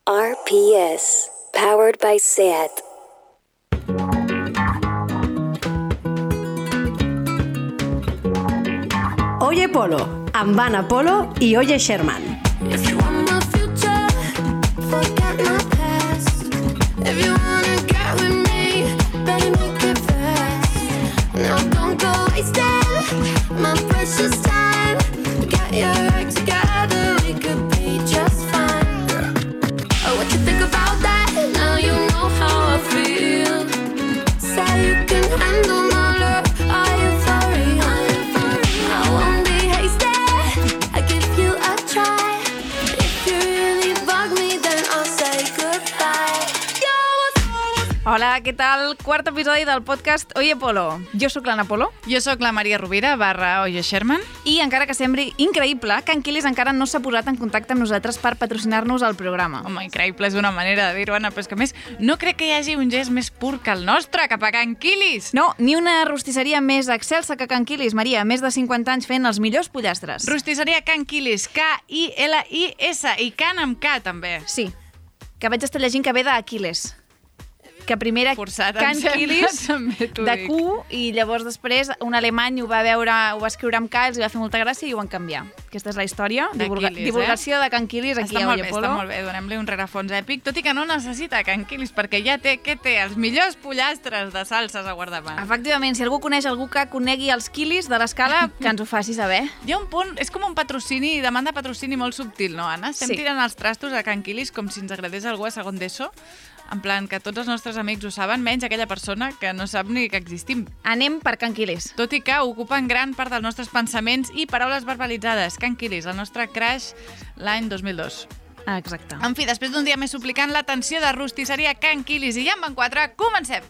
RPS, powered by SAT. Oye Polo, amb Anna Polo i Oye Sherman. If you want my future, forget my past. If you wanna get with me, better make it fast. Now don't go wasting my precious time. Get your act together, we could be just fine. Oh, what you think about that? Now you know how I feel. Say you can handle my love. Are you for real? I won't be hasty. I give you a try. If you really bug me, then I'll say goodbye. Hola, què tal? Quart episodi del podcast Oye Polo. Jo sóc l'Anna Polo. Jo sóc la Maria Rovira, /Oye Sherman. I encara que sembli increïble, Can Quilis encara no s'ha posat en contacte amb nosaltres per patrocinar-nos el programa. Home, increïble és una manera de dir-ho, Anna, però és que a més no crec que hi hagi un gest més pur que el nostre cap a Can Quilis. No, ni una rostisseria més excelsa que Can Quilis, Maria. Més de 50 anys fent els millors pollastres. Rostisseria Can Quilis, K-I-L-I-S, i Can amb K, també. Sí, que vaig estar llegint que ve d'Aquiles. Que primer era Forçat, Can em sembla, Quilis també t'ho de dic. Q i llavors després un alemany ho va veure, ho va escriure amb K, els va fer molta gràcia i ho van canviar. Aquesta és la història. D'Aquiles, Divulgació de Can Quilis aquí Està a molt Oye bé, Polo. està molt bé. Donem-li un rerefons èpic, tot i que no necessita Can Quilis, perquè ja té, què té? Els millors pollastres de salses a guardamar. Efectivament, si algú coneix algú que conegui els quilis de l'escala, que ens ho faci saber. Hi ha un punt, és com un patrocini, demanda patrocini molt subtil, no, Anna? Estem Sí. tirant els trastos a Can Quilis com si ens agradés algú a segon d'ESO, en plan que tots els nostres amics ho saben, menys aquella persona que no sap ni que existim. Anem per Can Quilis. Tot i que ocupen gran part dels nostres pensaments i paraules verbalitzades. Can Quilis, el nostre crash l'any 2002. Exacte. En fi, després d'un dia més suplicant l'atenció de rostisseria Can Quilis i ja en van 4, comencem!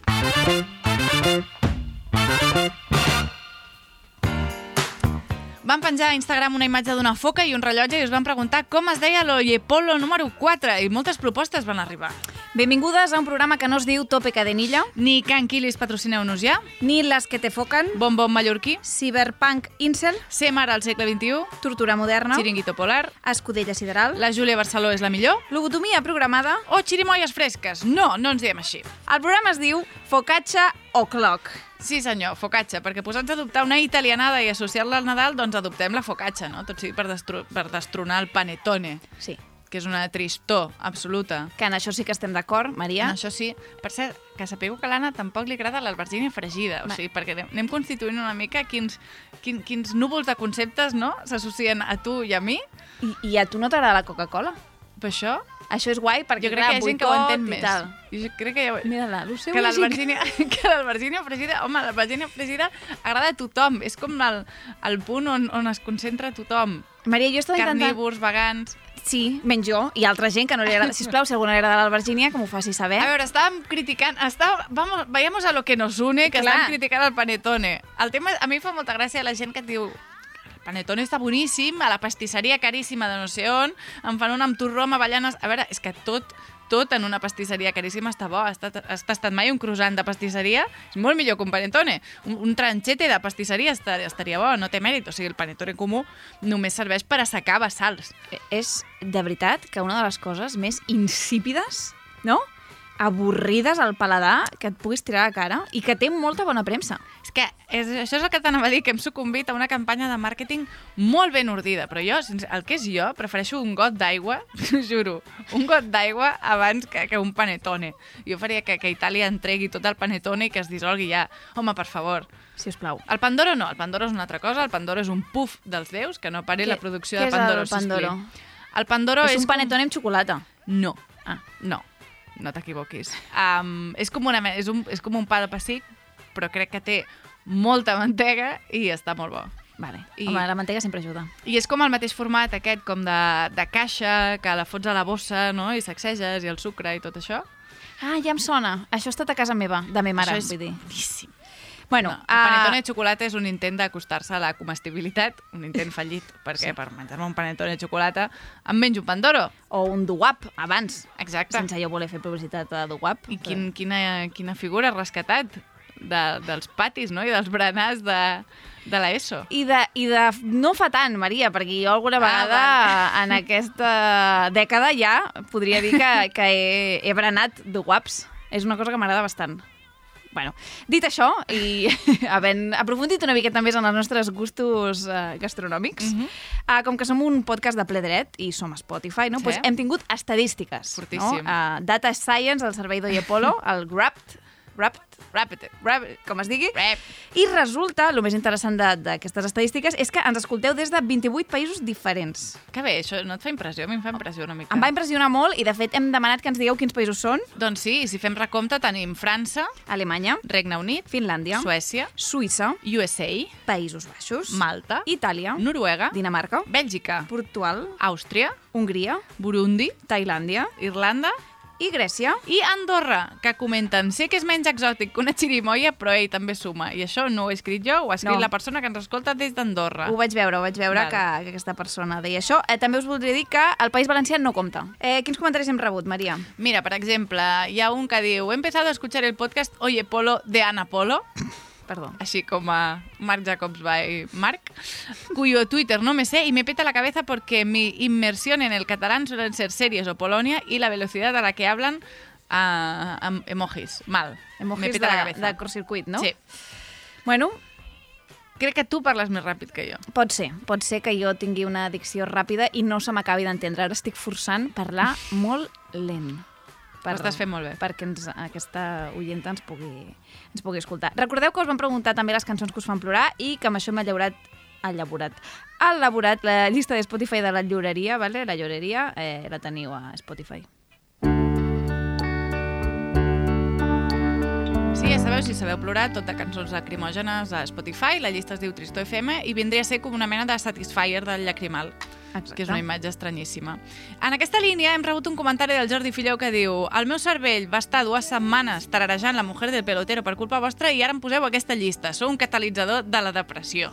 Van penjar a Instagram una imatge d'una foca i un rellotge i us van preguntar com es deia l'Oye Polo número 4 i moltes propostes van arribar. Benvingudes a un programa que no es diu Tope Cadenilla, Ni Can Quilis patrocineu-nos ja, ni Les que te focan, Bon Bon Mallorquí, Cyberpunk Incel, Ser mare al segle XXI, Tortura Moderna, Chiringuito Polar, Escudella Sideral, La Júlia Barceló és la millor, Lobotomia Programada. o Xirimoies fresques. No, no ens diem així. El programa es diu Focaccia O'Clock. Sí senyor, focaccia, perquè posats a adoptar una italianada i associar-la al Nadal, doncs adoptem la focaccia, no? Tot sigui per destronar el panettone, Sí, que és una tristor absoluta. que en això sí que estem d'acord, Maria. En això sí. Per cert, que sapigueu que a l'Anna tampoc li agrada l'albergínia fregida, o sigui, perquè anem constituint una mica quins núvols de conceptes, no?, s'associen a tu i a mi. I a tu no t'agrada la Coca-Cola? Per això, Això és guai perquè, jo crec que hi ha gent que ho entén més. Tal. Jo crec que Mira-la, lo seu que llegint. l'albergínia fregida, home, l'albergínia fregida agrada a tothom, és com el punt on es concentra tothom. Maria, jo estava intentant... Carnívors, vegans... Sí, menys jo i altra gent que no li agrada. Sisplau, si a algú no li agrada l'albergínia, que m'ho faci saber. A veure, estàvem criticant... Vayamos a lo que nos une, que Clar. estàvem criticant el panettone. El tema, a mi fa molta gràcia la gent que et diu el panettone està boníssim, a la pastisseria caríssima de no sé on, em fan un amb torró amb avellanes... A veure, és que tot en una pastisseria caríssima està bo. Has tastat mai un croissant de pastisseria? És molt millor que un panettone. Un tranchete de pastisseria estaria bo, no té mèrit. O sigui, el panettone comú només serveix per assecar bassals. És, de veritat, que una de les coses més insípides, no?, avorrides al paladar que et puguis tirar a la cara i que té molta bona premsa. És que això és el que t'anava a dir, que hem sucumbit a una campanya de màrqueting molt ben ordida, però jo, el que és jo, prefereixo un got d'aigua, t'ho juro, un got d'aigua abans que un panettone. Jo faria que Itàlia entregui tot el panettone i que es dissolgui ja. Home, per favor. Sisplau. El Pandoro no, el Pandoro és una altra cosa, el Pandoro és un puff dels déus, que no pari la producció què de Pandoro. és el Pandoro? El Pandoro És un panettone amb xocolata. No, no t'equivoquis. És com un pa de pessic, però crec que té molta mantega i està molt bo. Vale. Home, la mantega sempre ajuda. I és com el mateix format aquest, com de caixa, que la fots a la bossa, no?, i sacseges, i el sucre i tot això. Ah, ja em sona. Això ha estat a casa meva, de meva mare, Això és vull dir. boníssim. Bueno, No, el panettone de xocolata és un intent d'acostar-se a la comestibilitat, un intent fallit, perquè per menjar-me un panettone de xocolata em menjo un Pandoro. o un duwap, abans. Exacte. Sense jo voler fer publicitat a duwap. I quina figura has rescatat? dels patis, no? I dels berenars de l'ESO. I de no fa tant, Maria, perquè jo alguna vegada en aquesta dècada ja podria dir que he berenat de guaps. És una cosa que m'agrada bastant. Bueno, dit això, i havent aprofundit una miqueta més en els nostres gustos gastronòmics, com que som un podcast de ple dret i som a Spotify, no? Sí. Pues hem tingut estadístiques. Fortíssim. No? Data Science, el servei d'Oye Polo, el Rapid, com es digui. I resulta, el més interessant d'aquestes estadístiques és que ens escolteu des de 28 països diferents. Que bé, això no et fa impressió? A mi em fa impressió una mica. Em va impressionar molt i, de fet, hem demanat que ens digueu quins països són. Doncs sí, si fem recompte tenim França, Alemanya, Regne Unit, Finlàndia, Suècia, Suïssa, USA, Països Baixos, Malta, Itàlia, Noruega, Dinamarca, Bèlgica, Portugal, Àustria, Hongria, Burundi, Tailàndia Irlanda i Grècia. i Andorra, que comenten sé que és menys exòtic que una xirimoia, però ell també suma. I això no ho he escrit jo, ho ha escrit la persona que ens escolta des d'Andorra. Ho vaig veure Val. que aquesta persona deia això. També us voldria dir que el País Valencià no compta. Quins comentaris hem rebut, Maria? Mira, per exemple, hi ha un que diu: he empezado a escuchar el podcast Oye Polo de Ana Polo, Perdó. así como a Marc Jacobs by Marc, cuyo Twitter no me sé y me peta la cabeza porque mi inmersión en el catalán suelen ser series o Polonia y la velocidad a la que hablan emojis. Mal. Me Emojis peta la cabeza. de curtcircuit, no? Sí. Bueno, Crec que tu parles més ràpid que jo. pot ser que jo tingui una dicció ràpida i no se m'acabi d'entendre. Ara estic forçant parlar molt lent. Ho estàs fent molt bé. Perquè aquesta oienta ens pugui escoltar. Recordeu que us vam preguntar també les cançons que us fan plorar i que amb això hem elaborat la llista de Spotify de la llibreria, vale? La llibreria la teniu a Spotify. Sí, ja sabeu, si sabeu plorar, tot de cançons lacrimògenes a Spotify, la llista es diu Tristor FM i vindria a ser com una mena de Satisfyer del llacrimal. Exacte. Que és una imatge estranyíssima. En aquesta línia hem rebut un comentari del Jordi Filleu que diu: el meu cervell va estar 2 setmanes tararejant La mujer del pelotero per culpa vostra i ara em poseu aquesta llista. Sou un catalitzador de la depressió.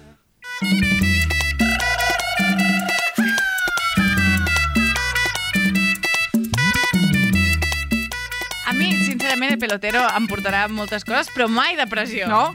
A mi, sincerament, el pelotero em portarà moltes coses, però mai depressió. No?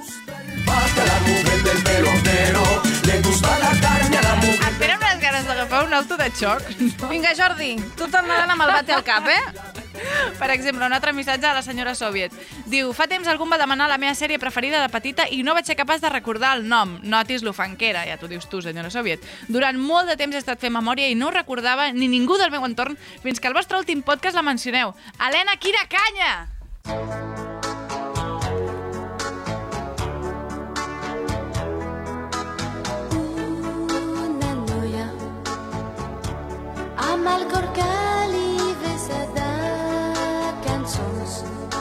Et tenen unes ganes d'agafar un auto de xoc. Vinga, Jordi, tu tornaràs amb el bate al cap, Per exemple, un altre missatge a la senyora Soviet. Diu: fa temps algú em va demanar la meva sèrie preferida de petita i no vaig ser capaç de recordar el nom. Notis l'ofanquera, ja t'ho dius tu, senyora Soviet. Durant molt de temps he estat fent memòria i no ho recordava ni ningú del meu entorn fins que al vostre últim podcast la mencioneu. Helena, quina canya! Una noia amb el cor que li vessa de cançons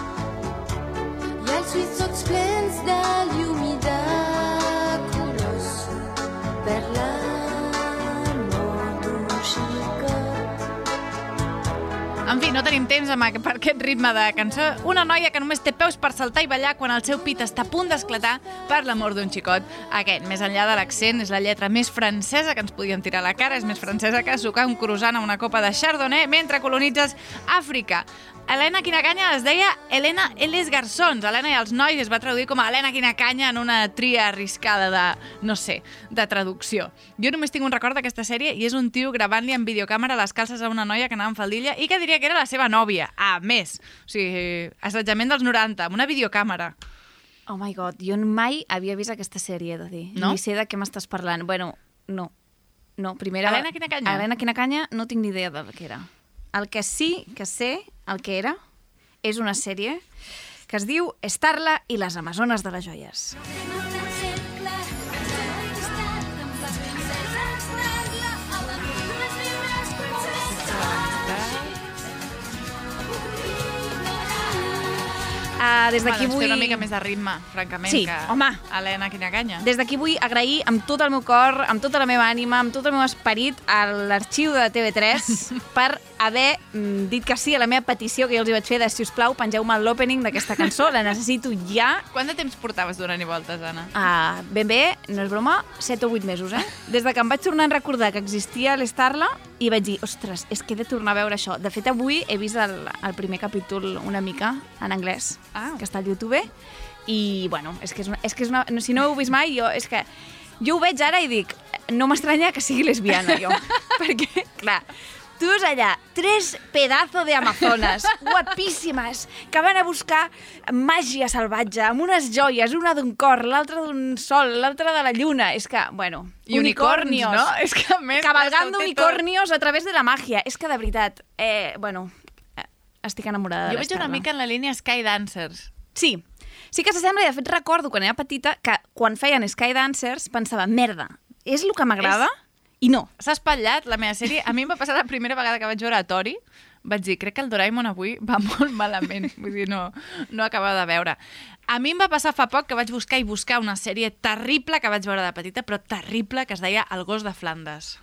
i els ulls tots plens de llum i de colors per l'amor d'un xicot. En fi, no tenim temps per aquest ritme de cançó. Una noia que només té peus per saltar i ballar quan el seu pit està a punt d'esclatar per l'amor d'un xicot. Aquest, més enllà de l'accent, és la lletra més francesa que ens podíem tirar a la cara. És més francesa que sucar un croissant a una copa de Chardonnay mentre colonitzes Àfrica. Helena Quina Canya es deia Helena i les garçons. Helena i els nois es va traduir com a Helena Quina Canya en una tria arriscada de, no sé, de traducció. Jo només tinc un record d'aquesta sèrie i és un tio gravant-li amb videocàmera les calces a una noia que anava amb faldilla i que diria que era la seva nòvia. A més, o sigui, assetjament dels 90, amb una videocàmera. Oh my god, jo mai havia vist aquesta sèrie, he de dir. No? Ni sé de què m'estàs parlant. Bueno, no. No, primera... Helena Quina Canya? Helena Quina Canya no tinc ni idea del que era. El que sí que sé, el que era, és una sèrie que es diu Starla i les Amazones de les Joies. Des d'aquí Bueno, vull... té una mica més de ritme, francament, Sí, que home. Helena Quina Canya. Des d'aquí vull agrair amb tot el meu cor, amb tota la meva ànima, amb tot el meu esperit a l'arxiu de TV3 per haver dit que sí a la meva petició que jo els hi vaig fer de, si us plau, pengeu-me l'opening d'aquesta cançó, la necessito ja. Quant de temps portaves donant i voltes, Anna? Ben bé, no és broma, 7 o 8 mesos, Des de que em vaig tornar a recordar que existia l'Starla I vaig dir, ostres, és que he de tornar a veure això. De fet, avui he vist el primer capítol una mica en anglès, que està al YouTube, i, bueno, és que és una... Si no ho heu vist mai, jo ho veig ara i dic, no m'estranya que sigui lesbiana, jo. Perquè, clar, tu veus allà 3 pedazos de amazones guapíssimes que van a buscar màgia salvatge amb unes joies, una d'un cor, l'altra d'un sol, l'altra de la lluna. És que, bueno, I unicornios, no? És que, a més, cabalgando unicornios a través de la màgia. És que, de veritat, bueno, estic enamorada de Jo veig una mica en la línia Skydancers. Sí que s'assembla, i de fet recordo quan era petita que quan feien Skydancers pensava, merda, és el que m'agrada? I no. S'ha espatllat la meva sèrie. A mi em va passar la primera vegada que vaig veure a Tori. Vaig dir, crec que el Doraemon avui va molt malament. Vull dir, no acaba de veure. A mi em va passar fa poc que vaig buscar una sèrie terrible que vaig veure de petita, però terrible, que es deia El gos de Flandes.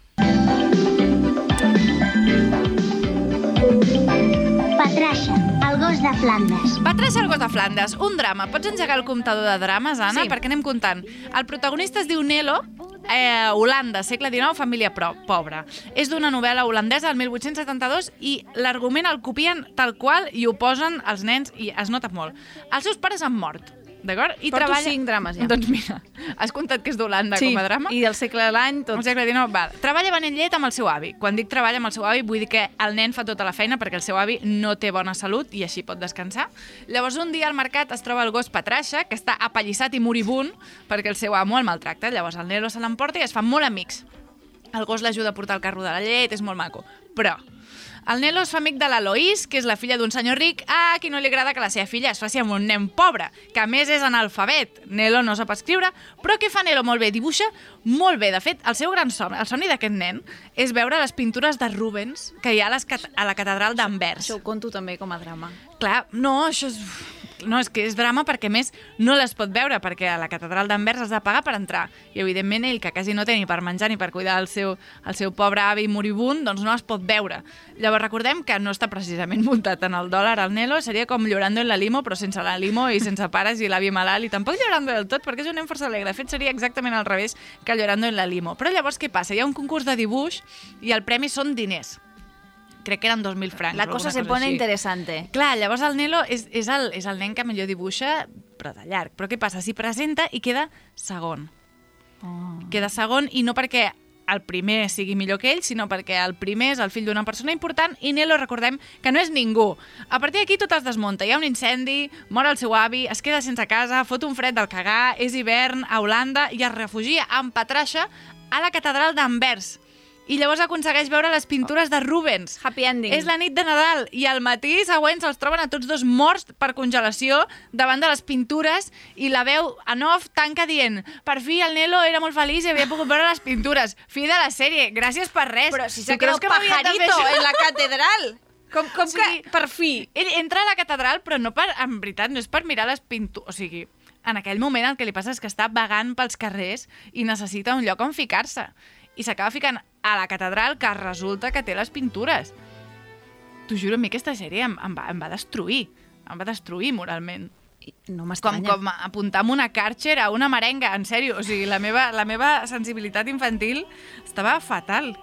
Patrasha, el gos de Flandes. Patrasha, el gos de Flandes, un drama. Pots engegar el comptador de drames, Anna? Sí. Perquè anem comptant. El protagonista es diu Nelo, Holanda, segle XIX, família pobra. És d'una novel·la holandesa del 1872 i l'argument el copien tal qual i ho posen els nens i es nota molt. Els seus pares han mort, d'acord? Porto 5 drames, ja. Doncs mira, has comptat que és d'Holanda com a drama? Sí, i del segle de l'any, tot. El segle XIX, val. Treballa venent llet amb el seu avi. Quan dic treballa amb el seu avi, vull dir que el nen fa tota la feina perquè el seu avi no té bona salut i així pot descansar. Llavors, un dia al mercat es troba el gos Patrasha, que està apallissat i moribund perquè el seu amo el maltracta. Llavors, el Nelo se l'emporta i es fan molt amics. El gos l'ajuda a portar el carro de la llet, és molt maco. Però el Nelo es fa amic de l'Eloís, que és la filla d'un senyor ric, a qui no li agrada que la seva filla es faci amb un nen pobre, que a més és analfabet. Nelo no sap escriure, però què fa Nelo molt bé? Dibuixa molt bé. De fet, el seu gran somni, el somni d'aquest nen, és veure les pintures de Rubens que hi ha a la catedral d'Anvers. Això ho conto també com a drama. Clar, no, això és... No, és que és drama perquè, més, no les pot veure, perquè a la catedral d'Anvers has de pagar per entrar. I, evidentment, ell, que quasi no té ni per menjar ni per cuidar el seu pobre avi moribund, doncs no les pot veure. Llavors, recordem que no està precisament muntat en el dòlar al Nelo, seria com Llorando en la limo, però sense la limo i sense pares i l'avi malalt, i tampoc Llorando del tot, perquè és un nen força alegre. De fet, seria exactament al revés que Llorando en la limo. Però llavors, què passa? Hi ha un concurs de dibuix i el premi són diners. Crec que eren 2.000 francs. La cosa se pone interesante. Clar, llavors el Nelo és el nen que millor dibuixa, però de llarg. Però què passa? S'hi presenta i queda segon. Queda segon, i no perquè el primer sigui millor que ell, sinó perquè el primer és el fill d'una persona important i Nelo, recordem, que no és ningú. A partir d'aquí tot es desmunta. Hi ha un incendi, mor el seu avi, es queda sense casa, fot un fred del cagar, és hivern a Holanda i es refugia amb Patrasha a la catedral d'Anvers. I llavors aconsegueix veure les pintures de Rubens. Happy ending. És la nit de Nadal i al matí següent se'ls troben a tots dos morts per congelació davant de les pintures i la veu en off tanca dient per fi el Nelo era molt feliç i havia pogut veure les pintures. Fi de la sèrie. Gràcies per res. Però si s'ha quedat pajarito en la catedral. Com que per fi? Ell entra a la catedral, però no per, en veritat, no és per mirar les pintures. O sigui, en aquell moment el que li passa és que està vagant pels carrers i necessita un lloc on ficar-se. I s'acaba ficant a la catedral, que resulta que té les pintures. T'ho juro, a mi aquesta sèrie em va destruir. Em va destruir moralment. No m'estranya. Com apuntar amb una Karcher a una merenga, en sèrio. O sigui, la meva sensibilitat infantil estava fatal.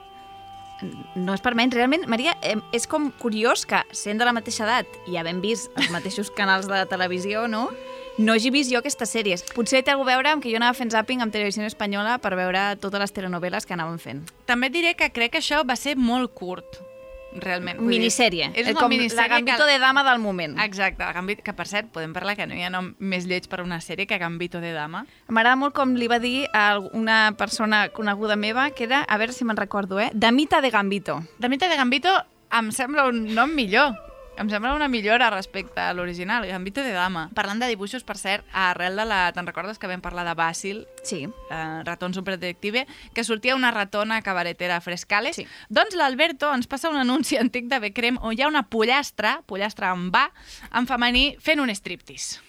No és per menys. Realment, Maria, és com curiós que, sent de la mateixa edat i havent vist els mateixos canals de televisió, no hagi vist jo aquestes sèries. Potser té alguna a veure amb que jo anava fent zàping amb Televisió Espanyola per veure totes les telenovel·les que anaven fent. També et diré que crec que això va ser molt curt, realment. Minissèrie. És com la Gambito de Dama del moment. Exacte, que per cert, podem parlar que no hi ha nom més lleig per una sèrie que Gambito de Dama. M'agrada molt com li va dir a una persona coneguda meva, que era, a veure si me'n recordo, Damita de Gambito. Damita de Gambito em sembla un nom millor. Em sembla una millora respecte a l'original, Gambito de Dama. Parlant de dibuixos, per cert, arrel de la... Te'n recordes que vam parlar de Basil? Sí. Ratón superdetective, que sortia una ratona cabaretera frescales? Sí. Doncs l'Alberto ens passa un anunci antic de Becrem on hi ha una pollastra amb va, en femení, fent un striptease.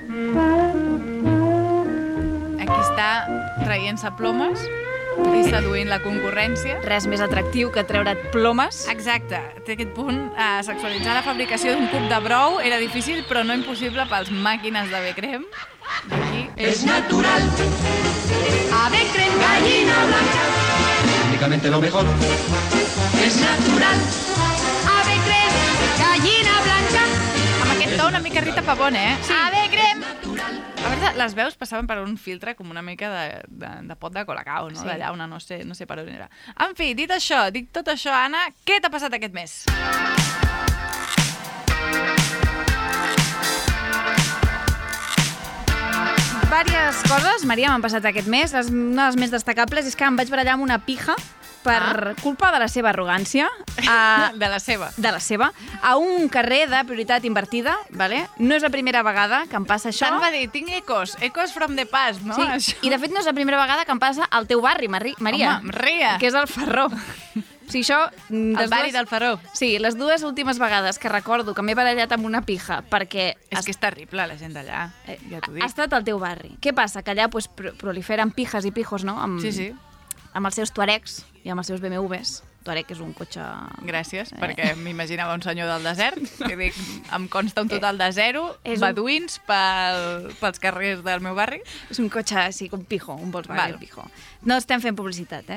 Aquí està traient-se plomes i seduint la concurrència. Res més atractiu que treure't plomes. Exacte. Té aquest punt. Sexualitzar la fabricació d'un cub de brou era difícil, però no impossible pels màquines de Becrem. Aquí. Es natural. A Becrem, gallina blanca. prácticamente lo mejor. Es natural. Ave crem, gallina blanca. Amb aquest to una mica Rita Pavone, Sí. Ave crem. A veure, les veus passaven per un filtre com una mica de pot de colacao, no? Sí. D'allà una no sé per on era. En fi, dit tot això, Anna, què t'ha passat aquest mes? Vàries coses, Maria, m'han passat aquest mes. Una de les més destacables és que em vaig barallar amb una pija per culpa de la seva arrogància. De la seva. A un carrer de prioritat invertida, vale? No és la primera vegada que em passa això. Tant va dir, tinc ecos from the past, no? Sí, Això. i de fet no és la primera vegada que em passa al teu barri, Maria. Home, Ria. Que és el Ferró. Sí, això... El barri del Feró. Sí, les dues últimes vegades que recordo que m'he barallat amb una pija perquè... És que és terrible, la gent d'allà, ja t'ho dic. Ha estat al teu barri. Què passa? Que allà pues, proliferen pijes i pijos, no? Sí. Amb els seus Tuaregs i amb els seus BMWs. Tuareg és un cotxe... Gràcies, perquè m'imaginava un senyor del desert. Que dic, em consta un total de 0 beduïns pels carrers del meu barri. És un cotxe, sí, un pijo, un Volkswagen pijo. No estem fent publicitat,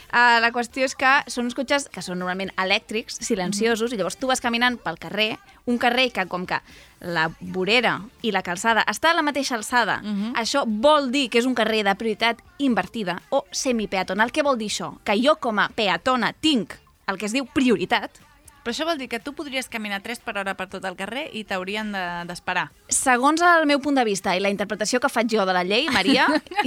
La qüestió és que són uns cotxes que són normalment elèctrics, silenciosos, i llavors tu vas caminant pel carrer, un carrer que com que la vorera i la calçada està a la mateixa alçada, això vol dir que és un carrer de prioritat invertida o semipeatonal. Què vol dir això? Que jo com a peatona tinc el que es diu prioritat. Però això vol dir que tu podries caminar 3 per hora per tot el carrer i t'haurien d'esperar. Segons el meu punt de vista i la interpretació que faig jo de la llei, Maria,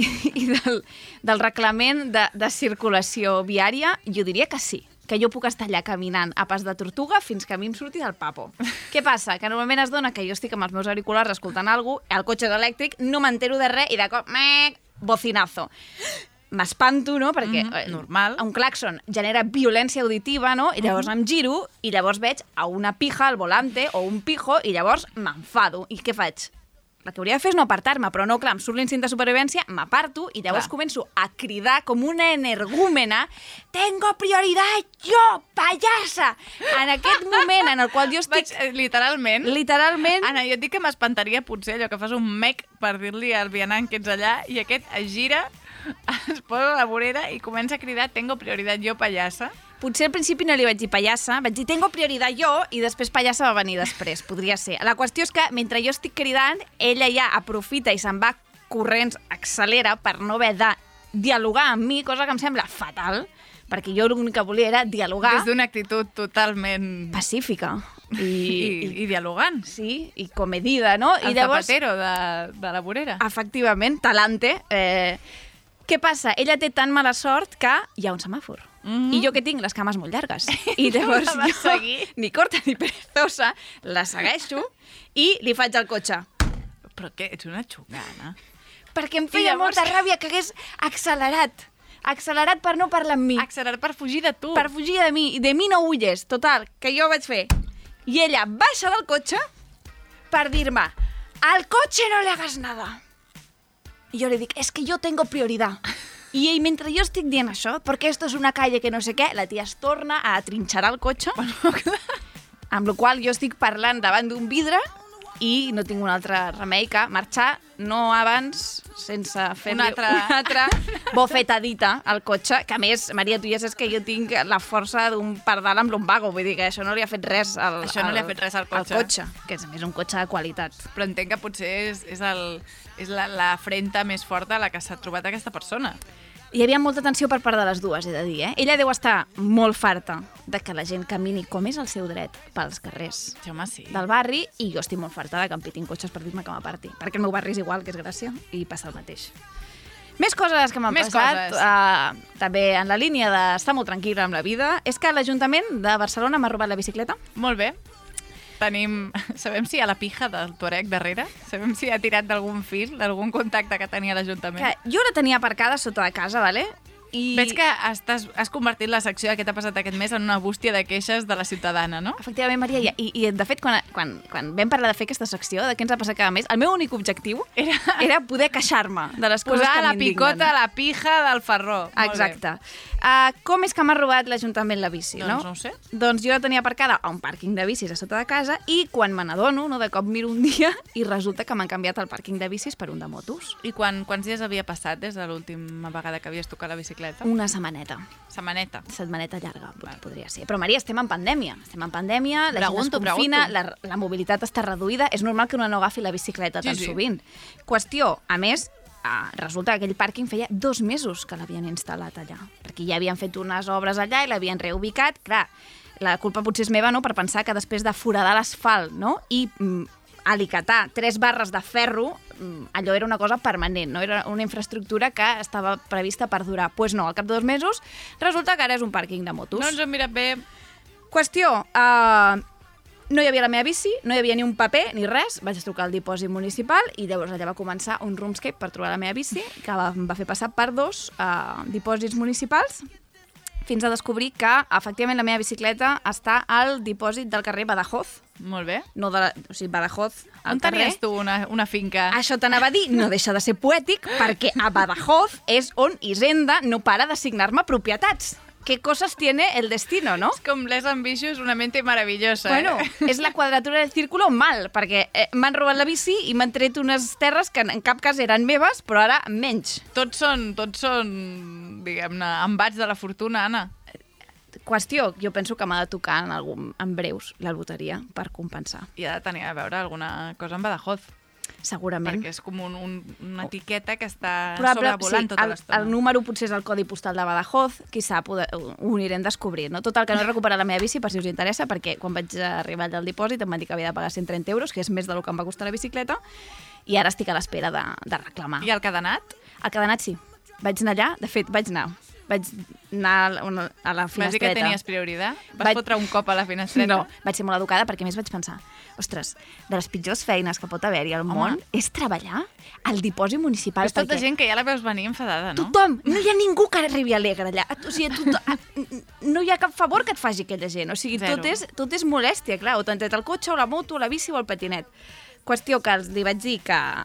i del reglament de circulació viària, jo diria que sí, que jo puc estar allà caminant a pas de tortuga fins que a mi em surti del papo. Què passa? Que normalment es dona que jo estic amb els meus auriculars escoltant alguna cosa, el cotxe és elèctric, no m'entero de res i de cop, bocinazo. M'espanto, no? Perquè normal. Un claxon genera violència auditiva, no? I llavors em giro i llavors veig a una pija al volante o un pijo i llavors m'enfado. I què faig? La que hauria de fer és no apartar-me, però no, clar, em surt l'instint de supervivència, m'aparto i llavors començo a cridar com una energúmena «Tengo prioridad yo, payasa!» En aquest moment en el qual jo estic... Literalment. Literalment. Anna, jo et dic que m'espantaria potser allò que fas un mec per dir-li al vianant que ets allà i aquest es gira, es posa a la vorera i comença a cridar «Tengo prioridad yo, payasa!» Potser al principi no li vaig dir pallassa, vaig dir tengo prioridad jo, i després pallassa va venir després, podria ser. La qüestió és que mentre jo estic cridant, ella ja aprofita i se'n va corrents, accelera per no haver de dialogar amb mi, cosa que em sembla fatal, perquè jo l'únic que volia era dialogar. Des d'una actitud totalment... pacífica. I dialogant. Sí, i comedida, no? El zapatero de la vorera. Efectivament, talante. Què passa? Ella té tan mala sort que hi ha un semàfor. I jo que tinc les cames molt llargues. I llavors la vas jo, seguir? ni corta ni perezosa, la segueixo i li faig el cotxe. Però què? Ets una xungana. Perquè em feia molta ràbia que hagués accelerat. Accelerat per no parlar amb mi. Accelerat per fugir de tu. Per fugir de mi. I de mi no huyes. Total, que jo vaig fer. I ella baixa del cotxe per dir-me al cotxe no le hagas nada. I jo li dic, és que jo tengo prioridad. I ell, mentre jo estic dient això, perquè esto és una calle que no sé què, la tia es torna a atrinxerar el cotxe, amb la qual jo estic parlant davant d'un vidre i no tinc un altre remei que marxar, no abans, sense fer una altra bofetadita al cotxe, que a més, Maria, tu ja saps que jo tinc la força d'un pardal amb lumbago, vull dir que això no li ha fet res al cotxe, que és a més un cotxe de qualitat. Però entenc que potser és la afrenta més forta a la que s'ha trobat aquesta persona. Hi havia molta tensió per part de les dues, he de dir, Ella deu estar molt farta de que la gent camini com és el seu dret pels carrers del barri, i jo estic molt farta de que em pitin cotxes per dir-me que m'aparti, perquè el meu barri és igual, que és Gràcia, i passa el mateix. Més coses que m'han passat, també en la línia d'estar molt tranquil·la amb la vida, és que l'Ajuntament de Barcelona m'ha robat la bicicleta. Molt bé. Sabem si hi ha la pija del Tuareg darrere? Sabem si ha tirat d'algun fil, d'algun contacte que tenia l'Ajuntament? Jo la tenia aparcada sota de casa, vale? I... Veig que has convertit la secció de què t'ha passat aquest mes en una bústia de queixes de la ciutadana, no? Efectivament, Maria, i de fet, quan vam parlar de fer aquesta secció, de què ens ha passat cada mes, el meu únic objectiu era poder queixar-me de les coses que m'indignen. Posar la picota a la pija del Ferró. Exacte. Com és que m'ha robat l'Ajuntament la bici, no? Doncs no ho sé. Doncs jo la tenia aparcada a un pàrquing de bicis a sota de casa i quan me n'adono, de cop miro un dia i resulta que m'han canviat el pàrquing de bicis per un de motos. I quants dies havia passat des de l'última vegada que havies tocat la bicicleta? bicicleta? Una setmaneta. Setmaneta llarga, podria ser. Però, Maria, estem en pandèmia. La gent es confina, la mobilitat està reduïda. És normal que una no agafi la bicicleta tan sovint. Qüestió, a més, resulta que aquell pàrquing feia 2 mesos que l'havien instal·lat allà, perquè ja havien fet unes obres allà i l'havien reubicat. Clar, la culpa potser és meva, no?, per pensar que després de foradar l'asfalt, no?, i alicatar 3 barres de ferro, allò era una cosa permanent, no? Era una infraestructura que estava prevista per durar. Doncs no, al cap de 2 mesos resulta que ara és un pàrquing de motos. No ens ho hem mirat bé. Qüestió, no hi havia la meva bici, no hi havia ni un paper ni res, vaig trucar al dipòsit municipal i llavors allà va començar un roomscape per trobar la meva bici, que em va fer passar per 2 dipòsits municipals, fins a descobrir que, efectivament, la meva bicicleta està al dipòsit del carrer Badajoz. Molt bé. No o sigui, Badajoz, al On carrer. tenies tu una finca? Això t'anava a dir, no deixa de ser poètic, perquè a Badajoz és on Hisenda no para d'assignar-me propietats. ¿Qué cosas tiene el destino, no? És com Les Ambitious, una mente maravillosa. Bueno, és la quadratura del círculo mal, perquè m'han robat la bici i m'han tret unes terres que en cap cas eren meves, però ara menys. Tots són, diguem-ne, embats de la fortuna, Anna. Qüestió, jo penso que m'ha de tocar en breus la loteria per compensar. I ha de tenir a veure alguna cosa amb Badajoz. Segurament. Perquè és com una etiqueta que està Probable, sobrevolant tota l'estona. El número potser és el codi postal de Badajoz, qui sap, ho anirem descobrint. No? Total, que no he recuperat la meva bici, per si us interessa, perquè quan vaig arribar allà al dipòsit em van dir que havia de pagar 130 euros, que és més del que em va costar la bicicleta, i ara estic a l'espera de reclamar. I el cadenat? El cadenat sí. Vaig anar allà, de fet, vaig anar a la finestreta. Vas dir que tenies prioritat? Vas fotre un cop a la finestreta? No, vaig ser molt educada perquè a més vaig pensar, ostres, de les pitjors feines que pot haver-hi al món és treballar al dipòsit municipal. És tota gent que ja la veus venir enfadada, no? Tothom! No hi ha ningú que arribi alegre allà. O sigui, no hi ha cap favor que et faci aquella gent. O sigui, tot és molèstia, clar. O t'han tret el cotxe, o la moto, o la bici, o el patinet. Qüestió que li vaig dir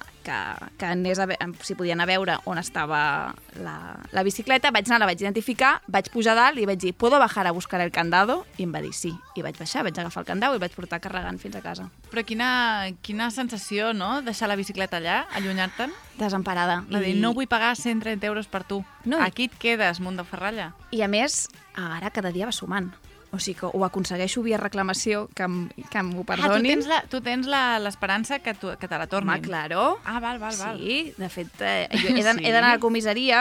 que anés si podien a veure on estava la bicicleta, vaig anar, la vaig identificar, vaig pujar dalt i vaig dir, ¿puedo bajar a buscar el candado? I em va dir sí. I vaig baixar, vaig agafar el candado i vaig portar carregant fins a casa. Però quina sensació, no?, deixar la bicicleta allà, allunyar-te'n. Desemparada. Va dir, no vull pagar 130 euros per tu. No. Aquí et quedes, munt de ferralla. I a més, ara cada dia va sumant. O sigui que ho aconsegueixo via reclamació, que m'ho perdonin. Tu tens l'esperança que te la tornin. Home, claro. Ah, val. Sí, de fet, jo he d'anar a la comissaria.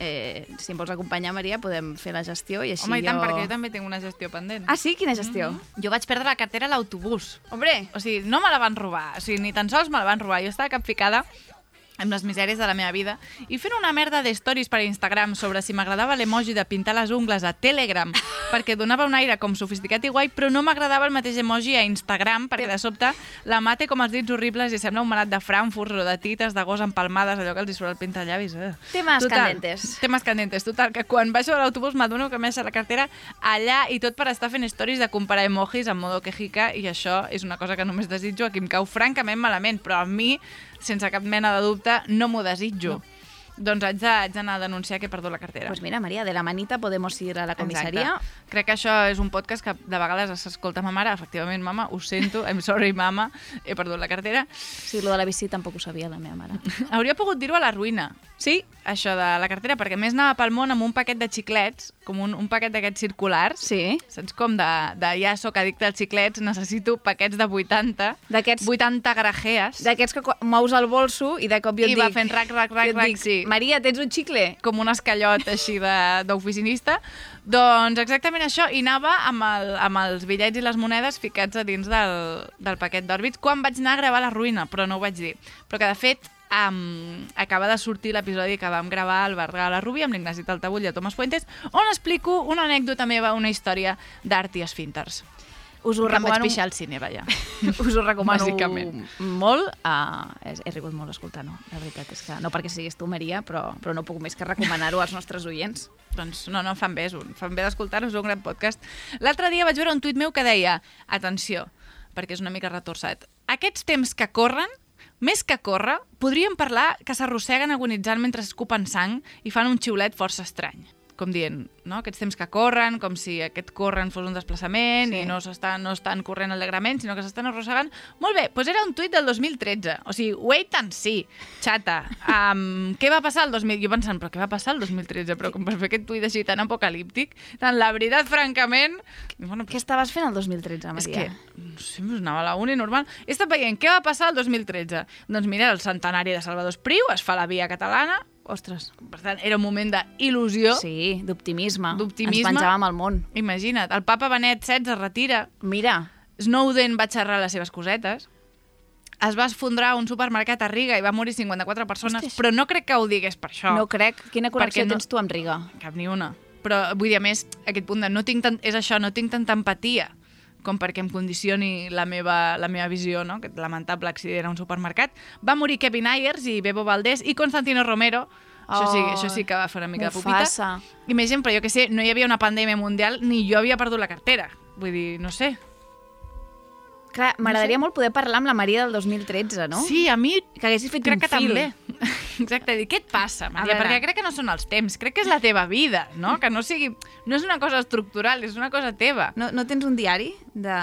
Si em vols acompanyar, Maria, podem fer la gestió i així Home, i tant, perquè jo també tinc una gestió pendent. Ah, sí? Quina gestió? Jo vaig perdre la cartera a l'autobús. Hombre! O sigui, no me la van robar. O sigui, ni tan sols me la van robar. Jo estava capficada amb les misèries de la meva vida i fent una merda de stories per Instagram sobre si m'agradava l'emoji de pintar les ungles a Telegram perquè donava un aire com sofisticat i guai, però no m'agradava el mateix emoji a Instagram perquè de sobte la mà té com els dits horribles i sembla un manat de Frankfurt o de tites de gos empalmades, allò que els hi surt el pintallavis. Temes candentes. Temes candentes. Total, que quan baixo de l'autobús m'adono que m'he deixat la cartera allà i tot per estar fent stories de comparar emojis en modo quejica i això és una cosa que només desitjo, a qui em cau francament malament, però a mi sense cap mena de dubte, no m'ho desitjo. No. Doncs haig d'anar a denunciar que he perdut la cartera. Pues mira, Maria, de la manita podemos ir a la comissaria. Exacte. Crec que això és un podcast que de vegades s'escolta ma mare. Efectivament, mama, ho sento, I'm sorry, mama, he perdut la cartera. Sí, lo de la bici tampoc ho sabia la meva mare. Hauria pogut dir-ho a la ruïna. Sí, això de la cartera, perquè més anava pel món amb un paquet de xiclets, com un paquet d'aquests circulars. Sí. Saps com de ja soc addicte als xiclets, necessito paquets de 80, 80 grajees. D'aquests que mous el bolso i de cop jo et dic... I va fent rac, sí. Maria, tens un xicle? Com un escallot així d'oficinista. Doncs exactament això, i anava amb els bitllets i les monedes ficats a dins del paquet d'òrbits quan vaig anar a gravar La Ruïna, però no ho vaig dir. Però que, de fet, acaba de sortir l'episodi que vam gravar al bar de la Rubí amb l'Ignasi Taltabull i el Tomàs Fuentes, on explico una anècdota meva, una història d'art i esfínters. Us ho recomano... Em vaig pixar al cine, vaja. Us ho recomano bàsicament molt. He rigut molt escoltant-ho. La veritat és que no perquè siguis tu, Maria, però no puc més que recomanar-ho als nostres oients. Doncs no, fan bé d'escoltar-ho, és un gran podcast. L'altre dia vaig veure un tuit meu que deia, atenció, perquè és una mica retorçat, aquests temps que corren, més que córrer, podríem parlar que s'arrosseguen agonitzant mentre escupen sang i fan un xiulet força estrany. com dient, no? Aquests temps que corren, com si aquest corren fos un desplaçament i no estan corrent alegrement, sinó que s'estan arrossegant. Molt bé, doncs era un tuit del 2013. O sigui, wait and see, xata. Què va passar el 2013? Jo pensant, però què va passar el 2013? Però com per fer aquest tuit així tan apocalíptic, tan la veritat, francament... Bueno, Què estaves fent el 2013, Maria? és que, no sé, anava a la uni normal. He estat veient què va passar el 2013. Doncs mira, el centenari de Salvador Espriu, es fa la Via Catalana. Ostres. Per tant, era un moment d'il·lusió. Sí, d'optimisme. D'optimisme. Ens penjàvem al món. Imagina't, el papa Benet XVI es retira, Mira, Snowden va xerrar les seves cosetes, es va esfondrar un supermercat a Riga i va morir 54 persones, Hòsties. però no crec que ho digués per això. no crec. Quina connexió Perquè no- tens tu amb Riga? Cap ni una. Però vull dir, a més, aquest punt de no tinc tanta empatia com perquè em condicioni la meva visió, no? Aquest lamentable accident a un supermercat. Va morir Kevin Ayers i Bebo Valdés i Constantino Romero. Això sí que va fer una mica de pupita. Mufasa. Imagina, però jo que sé, no hi havia una pandèmia mundial ni jo havia perdut la cartera. Vull dir, no sé. Clar, m'agradaria molt poder parlar amb la Maria del 2013, no? Sí, a mi Que haguessis fet crec un que fil. també. Exacte, dir, què et passa, Maria? veure. Perquè crec que no són els temps, crec que és la teva vida, no? Que no sigui... No és una cosa estructural, és una cosa teva. No tens un diari de...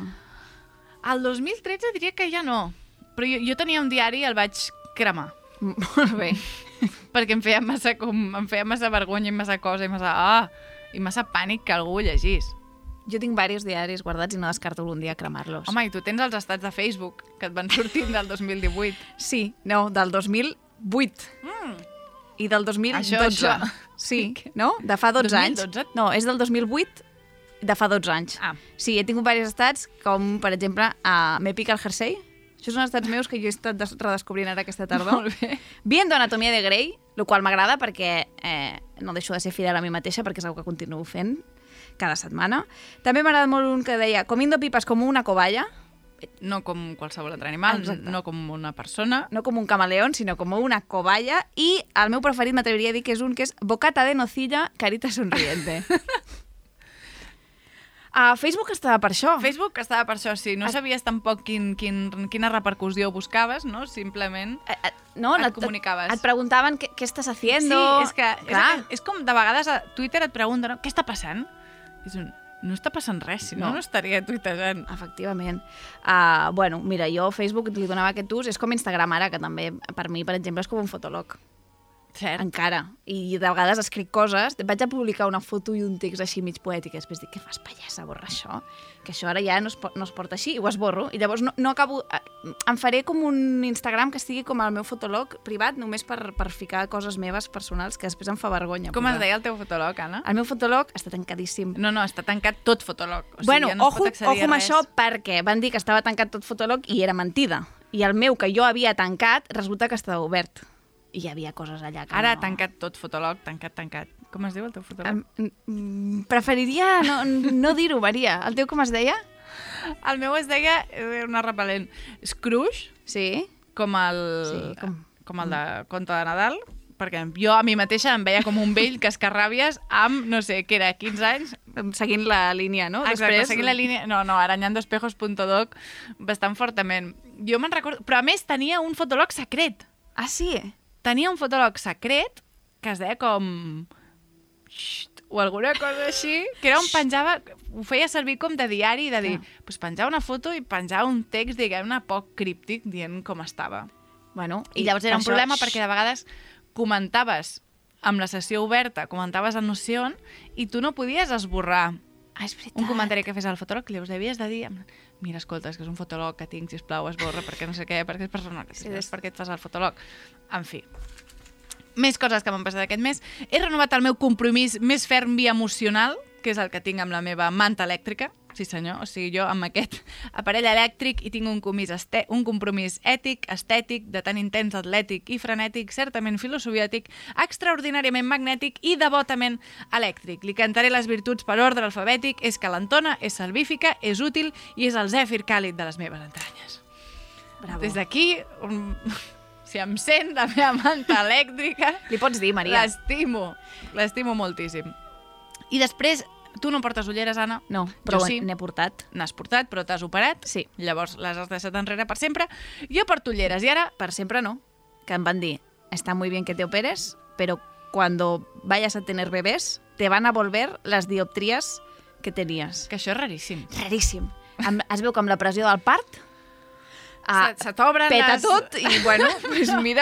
El 2013 diria que ja no, però jo tenia un diari i el vaig cremar, Molt bé. perquè em feia massa vergonya i massa cosa i massa pànic que algú ho llegís. Jo tinc diversos diaris guardats i no descarto algun dia cremar-los. Home, i tu tens els estats de Facebook que et van sortint del 2018. Sí, no, del 2008. I del 2012. Això. Sí, no? De fa 12 anys. 2012? No, és del 2008, de fa 12 anys. Ah. Sí, he tingut diversos estats, com, per exemple, m'Epic al Jersey. Això són estats meus que jo he estat redescobrint ara aquesta tardor. Molt bé. Viendo Anatomia de Grey, el qual m'agrada perquè no deixo de ser fidel a mi mateixa, perquè és una que continuo fent cada setmana. També m'ha agradat molt un que deia comiendo pipas como una cobaya, No com qualsevol altre animal, Exacte. no com una persona. no com un camaleón, sinó com una cobaya, i el meu preferit m'atreviria a dir que és un que és bocata de nocilla, carita sonriente. A Facebook estava per això. Facebook estava per això, sí. No sabies tampoc quina repercussió buscaves, no? Simplement... no, et comunicaves. Et preguntaven què estàs haciendo. Sí, Clar. és com de vegades a Twitter et pregunten, no? Què està passant? És no està passant res, si no estaria tuitejant. Efectivament. Bueno, mira, jo a Facebook li donava aquest ús, és com Instagram ara, que també per mi, per exemple, és com un fotolog. Cert. Encara. I de vegades escric coses, vaig a publicar una foto i un text així mig poètic, i després dic, què fas, pallassa, borra això? Que això ara ja no es porta així, i ho esborro. I llavors no acabo... Em faré com un Instagram que estigui com el meu fotolog privat, només per ficar coses meves personals, que després em fa vergonya. Com es deia el teu fotolog, Anna? El meu fotolog està tancadíssim. No, està tancat tot fotolog. O sigui, Bueno, ja no es ojo pot accedir a amb res. això, perquè van dir que estava tancat tot fotolog i era mentida. I el meu, que jo havia tancat, resulta que estava obert. I hi havia coses allà que Ara ha no... tancat tot fotolog, tancat. Com es diu el teu fotolog? Preferiria no dir-ho, Maria. El teu com es deia? El meu es deia una repel·lent. Scrooge, Sí. com el, Sí, com el de Conte de Nadal, perquè jo a mi mateixa em veia com un vell cascarràbies amb, no sé, què era, 15 anys. Seguint la línia, no? Exacte, seguint la línia... No, arañandoespejos.doc bastant fortament. Jo me'n recordo... Però a més tenia un fotolog secret. Ah, sí? Tenia un fotolog secret que es deia com... Xt, o alguna cosa així, que era on penjava... Ho feia servir com de diari, de dir... Pues penjava una foto i penjava un text, diguem-ne, poc críptic, dient com estava. Bueno, I llavors era un per problema això- perquè de vegades comentaves amb la sessió oberta, comentaves a Notion i tu no podies esborrar Ah, és veritat. un comentari que fes al fotòleg, llavors havies de dir mira, escolta, és que és un fotòleg que tinc, sisplau, esborra, perquè no sé què, perquè és personal, sí, és perquè et fas el fotòleg. En fi. Més coses que m'han passat aquest mes. He renovat el meu compromís més ferm via emocional, que és el que tinc amb la meva manta elèctrica. Sí, senyor. O sigui, jo amb aquest aparell elèctric hi tinc un compromís ètic, estètic, de tan intens atlètic i frenètic, certament filosofiàtic, extraordinàriament magnètic i devotament elèctric. Li cantaré les virtuts per ordre alfabètic, és calentona, és salvífica, és útil i és el zèfir càlid de les meves entranyes. Bravo. Des d'aquí, si em sent la meva manta elèctrica, Li pots dir, Maria? l'estimo moltíssim. I després, tu no portes ulleres, Anna? No, però Jo sí. n'he portat. N'has portat, però t'has operat. Sí. Llavors les has deixat enrere per sempre. Jo porto ulleres i ara... Per sempre no. Que em van dir, está muy bien que te operes, pero cuando vayas a tener bebés, te van a volver las dioptrías que tenies. Que això és raríssim. Raríssim. Es veu que amb la pressió del part Se t'obren peta les... tot i, bueno, pues mira,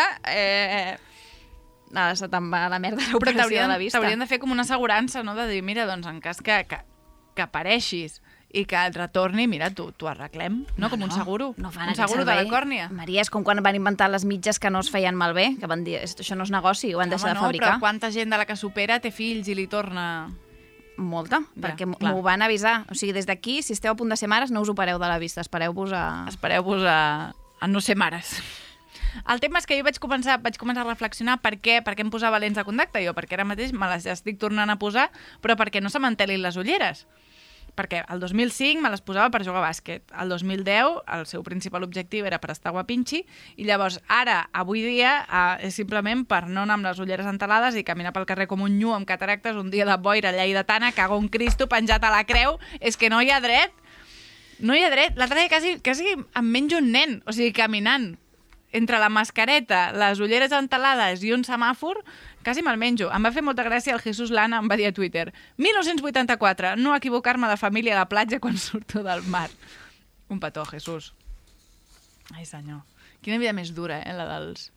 se te'n va a la merda Però l'operació de la vista. t'haurien de fer com una assegurança, no? De dir, mira, doncs en cas que apareixis i que et retorni, mira, t'ho arreglem, no? Com un seguro. No fan un aquest seguro de servei. la còrnia. Maria, és com quan van inventar les mitges que no es feien malbé, que van dir, això no és negoci, ho han deixat de fabricar. Però quanta gent de la que supera té fills i li torna... Molta, Ja, perquè clar. m'ho van avisar. O sigui, des d'aquí, si esteu a punt de ser mares, no us opereu de la vista, espereu-vos a... Espereu-vos a no ser mares. El tema és que jo vaig començar a reflexionar per què em posava lents de contacte jo, perquè ara mateix me les estic tornant a posar, però perquè no se m'entelin les ulleres. Perquè el 2005 me les posava per jugar a bàsquet. El 2010 el seu principal objectiu era per estar guapinxi i llavors ara, avui dia, és simplement per no anar amb les ulleres entelades i caminar pel carrer com un nyu amb cataractes un dia de boira, lleidatana, cago un Cristo penjat a la creu. És que no hi ha dret. No hi ha dret. L'altre dia quasi em menjo un nen, o sigui, caminant. Entre la mascareta, les ulleres entelades i un semàfor, quasi me'l menjo. Em va fer molta gràcia el Jesús Lana, em va dir a Twitter 1984, no equivocar-me de família a la platja quan surto del mar. Un petó, Jesús. Ai, senyor. Quina vida més dura, la dels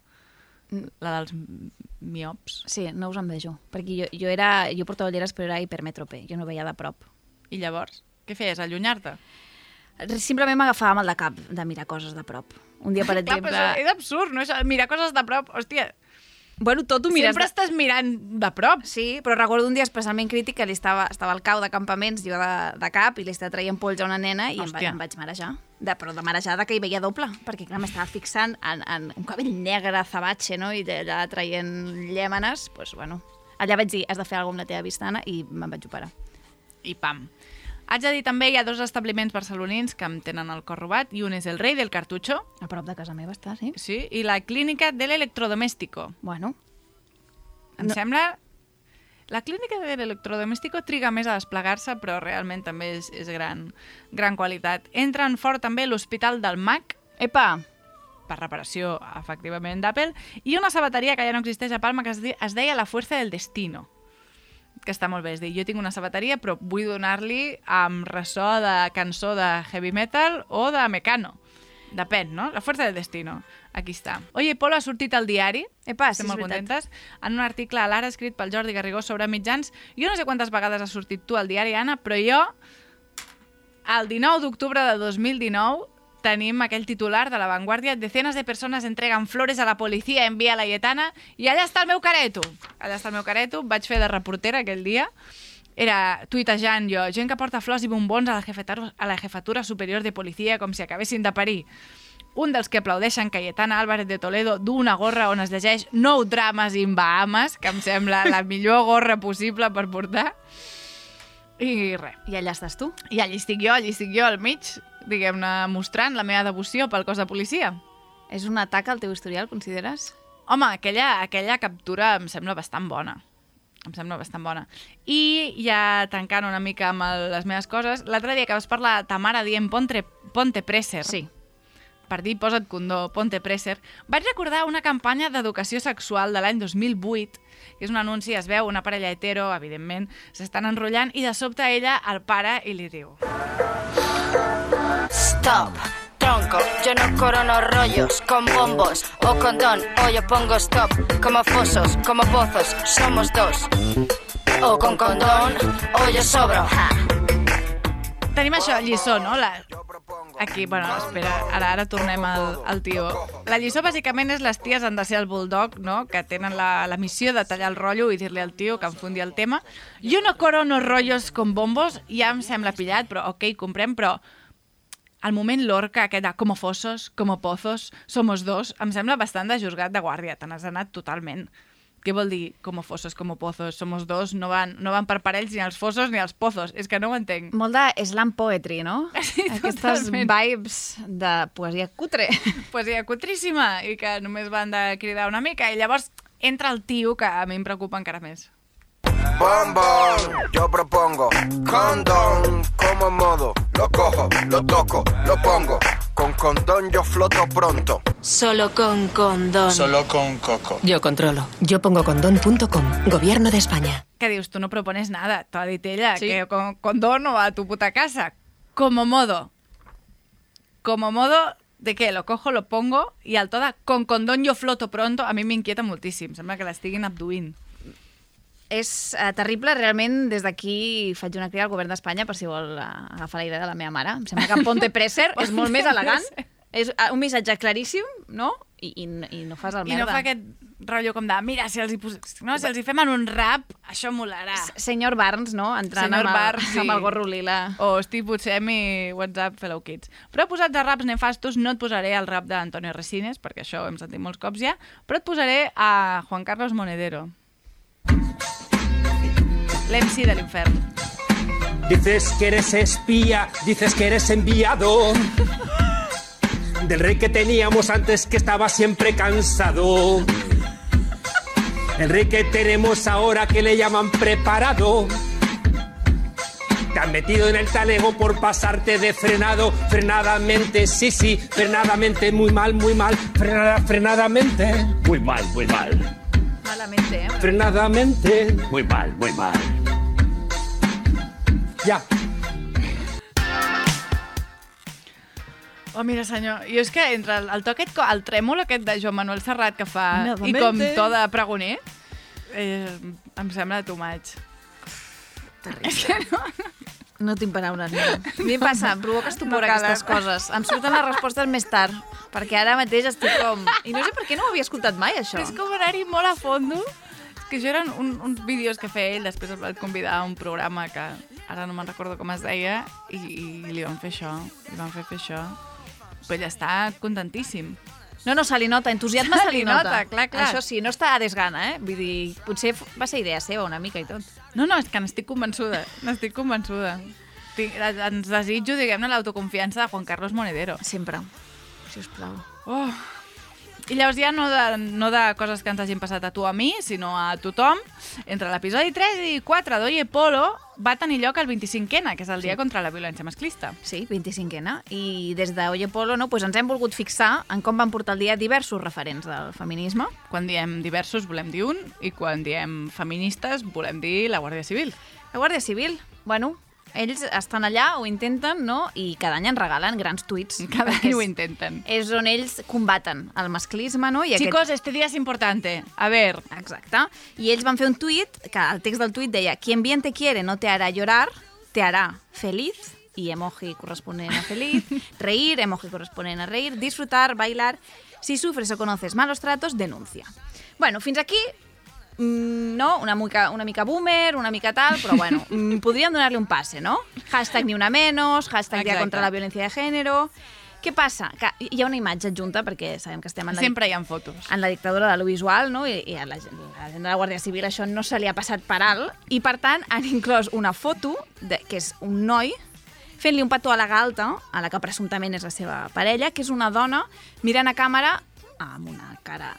miops. Sí, no us envejo. Perquè jo portava ulleres però era hipermètrope, jo no veia de prop. I llavors, què feies, allunyar-te? Simplement m'agafava mal de cap de mirar coses de prop. Un dia, per exemple... Clar, però és absurd, no? Això, mirar coses de prop, hòstia... Bueno, tot ho mires... Sempre estàs mirant de prop. Sí, però recordo un dia especialment crític que estava al cau de campaments, jo de cap, i li estava traient polls a una nena i em vaig marejar. Però de marejada que hi veia doble, perquè clar, m'estava fixant en un cabell negre, azabache, no? I allà traient llèmenes, doncs, bueno... Allà vaig dir, has de fer alguna cosa amb la teva vista, Anna, i me'n vaig operar. I pam. Haig de dir també, hi ha 2 establiments barcelonins que em tenen el cor robat, i un és el Rei del Cartucho. A prop de casa meva està, sí? Sí, i la Clínica de l'Electrodoméstico. Bueno. Em sembla... La Clínica de l'Electrodoméstico triga més a desplegar-se, però realment també és gran qualitat. Entren fort també l'Hospital del Mac, Epa! per reparació, efectivament, d'Apple, i una sabateria que ja no existeix a Palma que es deia La Fuerza del Destino, que està molt bé. És dir, jo tinc una sabateria, però vull donar-li amb ressò de cançó de heavy metal o de Mecano. Depèn, no? La Fuerza del Destino. Aquí està. Oye, Polo ha sortit al diari. Epa, sí, Estem és molt veritat. contentes. En un article a l'Ara escrit pel Jordi Garrigó sobre mitjans. Jo no sé quantes vegades has sortit tu al diari, Anna, però jo, el 19 d'octubre de 2019, tenim aquell titular de La Vanguardia: decenas de personas entregan flores a la policía en Vía Laietana, i allà està el meu careto. Allà està el meu careto. Vaig fer de reportera aquell dia. Era tuitejant jo, gent que porta flors i bombons a la jefatura superior de policia com si acabessin de parir. Un dels que aplaudeixen Cayetana Álvarez de Toledo du una gorra on es llegeix No drames in Bahamas, que em sembla la millor gorra possible per portar. I res. I allà estàs tu. I allí estic jo al mig, diguem-ne, mostrant la meva devoció pel cos de policia. És un atac al teu historial, consideres? Home, aquella captura em sembla bastant bona. Em sembla bastant bona. I ja tancant una mica amb les meves coses, l'altre dia que vas parlar ta mare dient ponte presser. Sí. Per dir posa't condó, ponte presser, vaig recordar una campanya d'educació sexual de l'any 2008, que és un anunci, es veu una parella hetero, evidentment, s'estan enrotllant, i de sobte ella el para i li diu: Stop, tronco, yo no corono rollos con bombos o condón, o yo pongo stop, como fosos, como pozos, somos dos, o con condón, o yo sobro, ja. Tenim això, lliçó, no? Aquí, bueno, espera, ara tornem al tio. La lliçó, bàsicament, és les ties han de ser el bulldog, no?, que tenen la missió de tallar el rotllo i dir-li al tio que enfondi el tema. Jo no corono rotllos con bombos, ja em sembla pillat, però ok, comprem, però al moment Lorca, aquest de como fosos, como pozos, somos dos, em sembla bastant de juzgat de guàrdia, te n'has anat totalment. Què vol dir como fosos, como pozos, somos dos? No van per parells ni els fosos ni els pozos, és que no ho entenc. Molt de slam poetry, no? Sí, Aquestes totalment. vibes de poesia cutre. Poesia cutríssima i que només van de cridar una mica, i llavors entra el tio, que a mi em preocupa encara més. bombón. Yo propongo condón como modo. Lo cojo, lo toco, lo pongo. Con condón yo floto pronto. Solo con condón. Solo con coco. Yo controlo. Yo pongo condón.com. Gobierno de España. Que dius, tú no propones nada. T'ho ha dit ella, Sí. que con condón no va a tu puta casa. Como modo. Como modo de que lo cojo, lo pongo i el to de con condón yo floto pronto a mi m'inquieta moltíssim. Sembla que l'estiguin abduint. És terrible, realment, des d'aquí faig una crida al govern d'Espanya per si vol agafar la idea de la meva mare. Em sembla que Ponte Presser és molt més elegant, és un missatge claríssim, no? I no fas el I merda. no fa aquest rotllo com de, mira, si els hi fem en un rap, això molarà. Senyor Barnes, no? Entrant Senyor amb, Barnes, sí. amb el gorro lila. O Steve Buscemi, WhatsApp, Fellow Kids. Però posats a raps nefastos, no et posaré el rap d'Antonio Resines, perquè això ho hem sentit molts cops ja, però et posaré a Juan Carlos Monedero. L'MC de l'infern. Dices que eres espía, dices que eres enviado del rey que teníamos antes que estaba siempre cansado. El rey que tenemos ahora que le llaman preparado. Te han metido en el talego por pasarte de frenado. Frenadamente, sí, sí, frenadamente, muy mal, frenadamente. Muy mal, muy mal. Malamente, eh? Frenadamente. Muy mal, muy mal. Ja. Oh, mira, senyor, jo és que entre el to aquest, el trèmol aquest de Joan Manuel Serrat que fa Novamente. i com to de pregoner, em sembla too much. Terrible. És que no tinc paraules, no. A mi em passa, em provoca estupor aquestes coses. Em surten les respostes més tard, perquè ara mateix estic com... I no sé per què no ho havia escoltat mai, això. És com anar-hi molt a fondo. És que això eren uns vídeos que feia ell, després el van convidar a un programa que ara no me'n recordo com es deia, i li van fer això, li van fer això. Però ell està contentíssim. No, se li nota, entusiasme se li nota. Clar. Això sí, no està a desgana, Vull dir, potser va ser idea seva una mica i tot. No, és que n'estic convençuda, Ens desitjo, diguem-ne, l'autoconfiança de Juan Carlos Monedero. Sempre, sisplau. Oh. I llavors ja no de coses que ens hagin passat a tu o a mi, sinó a tothom, entre l'episodi 3 i 4 d'Oye Polo va tenir lloc el 25N, que és el dia contra la violència masclista. Sí, 25N. I des d'Oye Polo ens hem volgut fixar en com van portar el dia diversos referents del feminisme. Quan diem diversos volem dir un, i quan diem feministes volem dir la Guàrdia Civil. La Guàrdia Civil, ells estan allà, ho intenten, no? I cada any ens regalen grans tuits. Cada any ho intenten. És on ells combaten el masclisme, no? I Chicos, este día es importante. A ver. Exacte. I ells van fer un tuit, que el text del tuit deia «Quien bien te quiere no te hará llorar, te hará feliz», i emoji corresponent a feliz, reír, emoji corresponent a reír, disfrutar, bailar, si sufres o conoces malos tratos, denuncia. Bueno, fins aquí... no, una mica boomer, una mica tal, però podríem donar-li un passe, no? Hashtag ni una menos, hashtag dia contra la violència de gènere... Què passa? Que hi ha una imatge adjunta, perquè sabem que estem en Sempre hi ha fotos. En la dictadura de lo visual, no? I a la gent de la Guàrdia Civil això no se li ha passat per alt, i per tant han inclòs una foto, que és un noi, fent-li un petó a la galta, a la que presumptament és la seva parella, que és una dona mirant a càmera amb una cara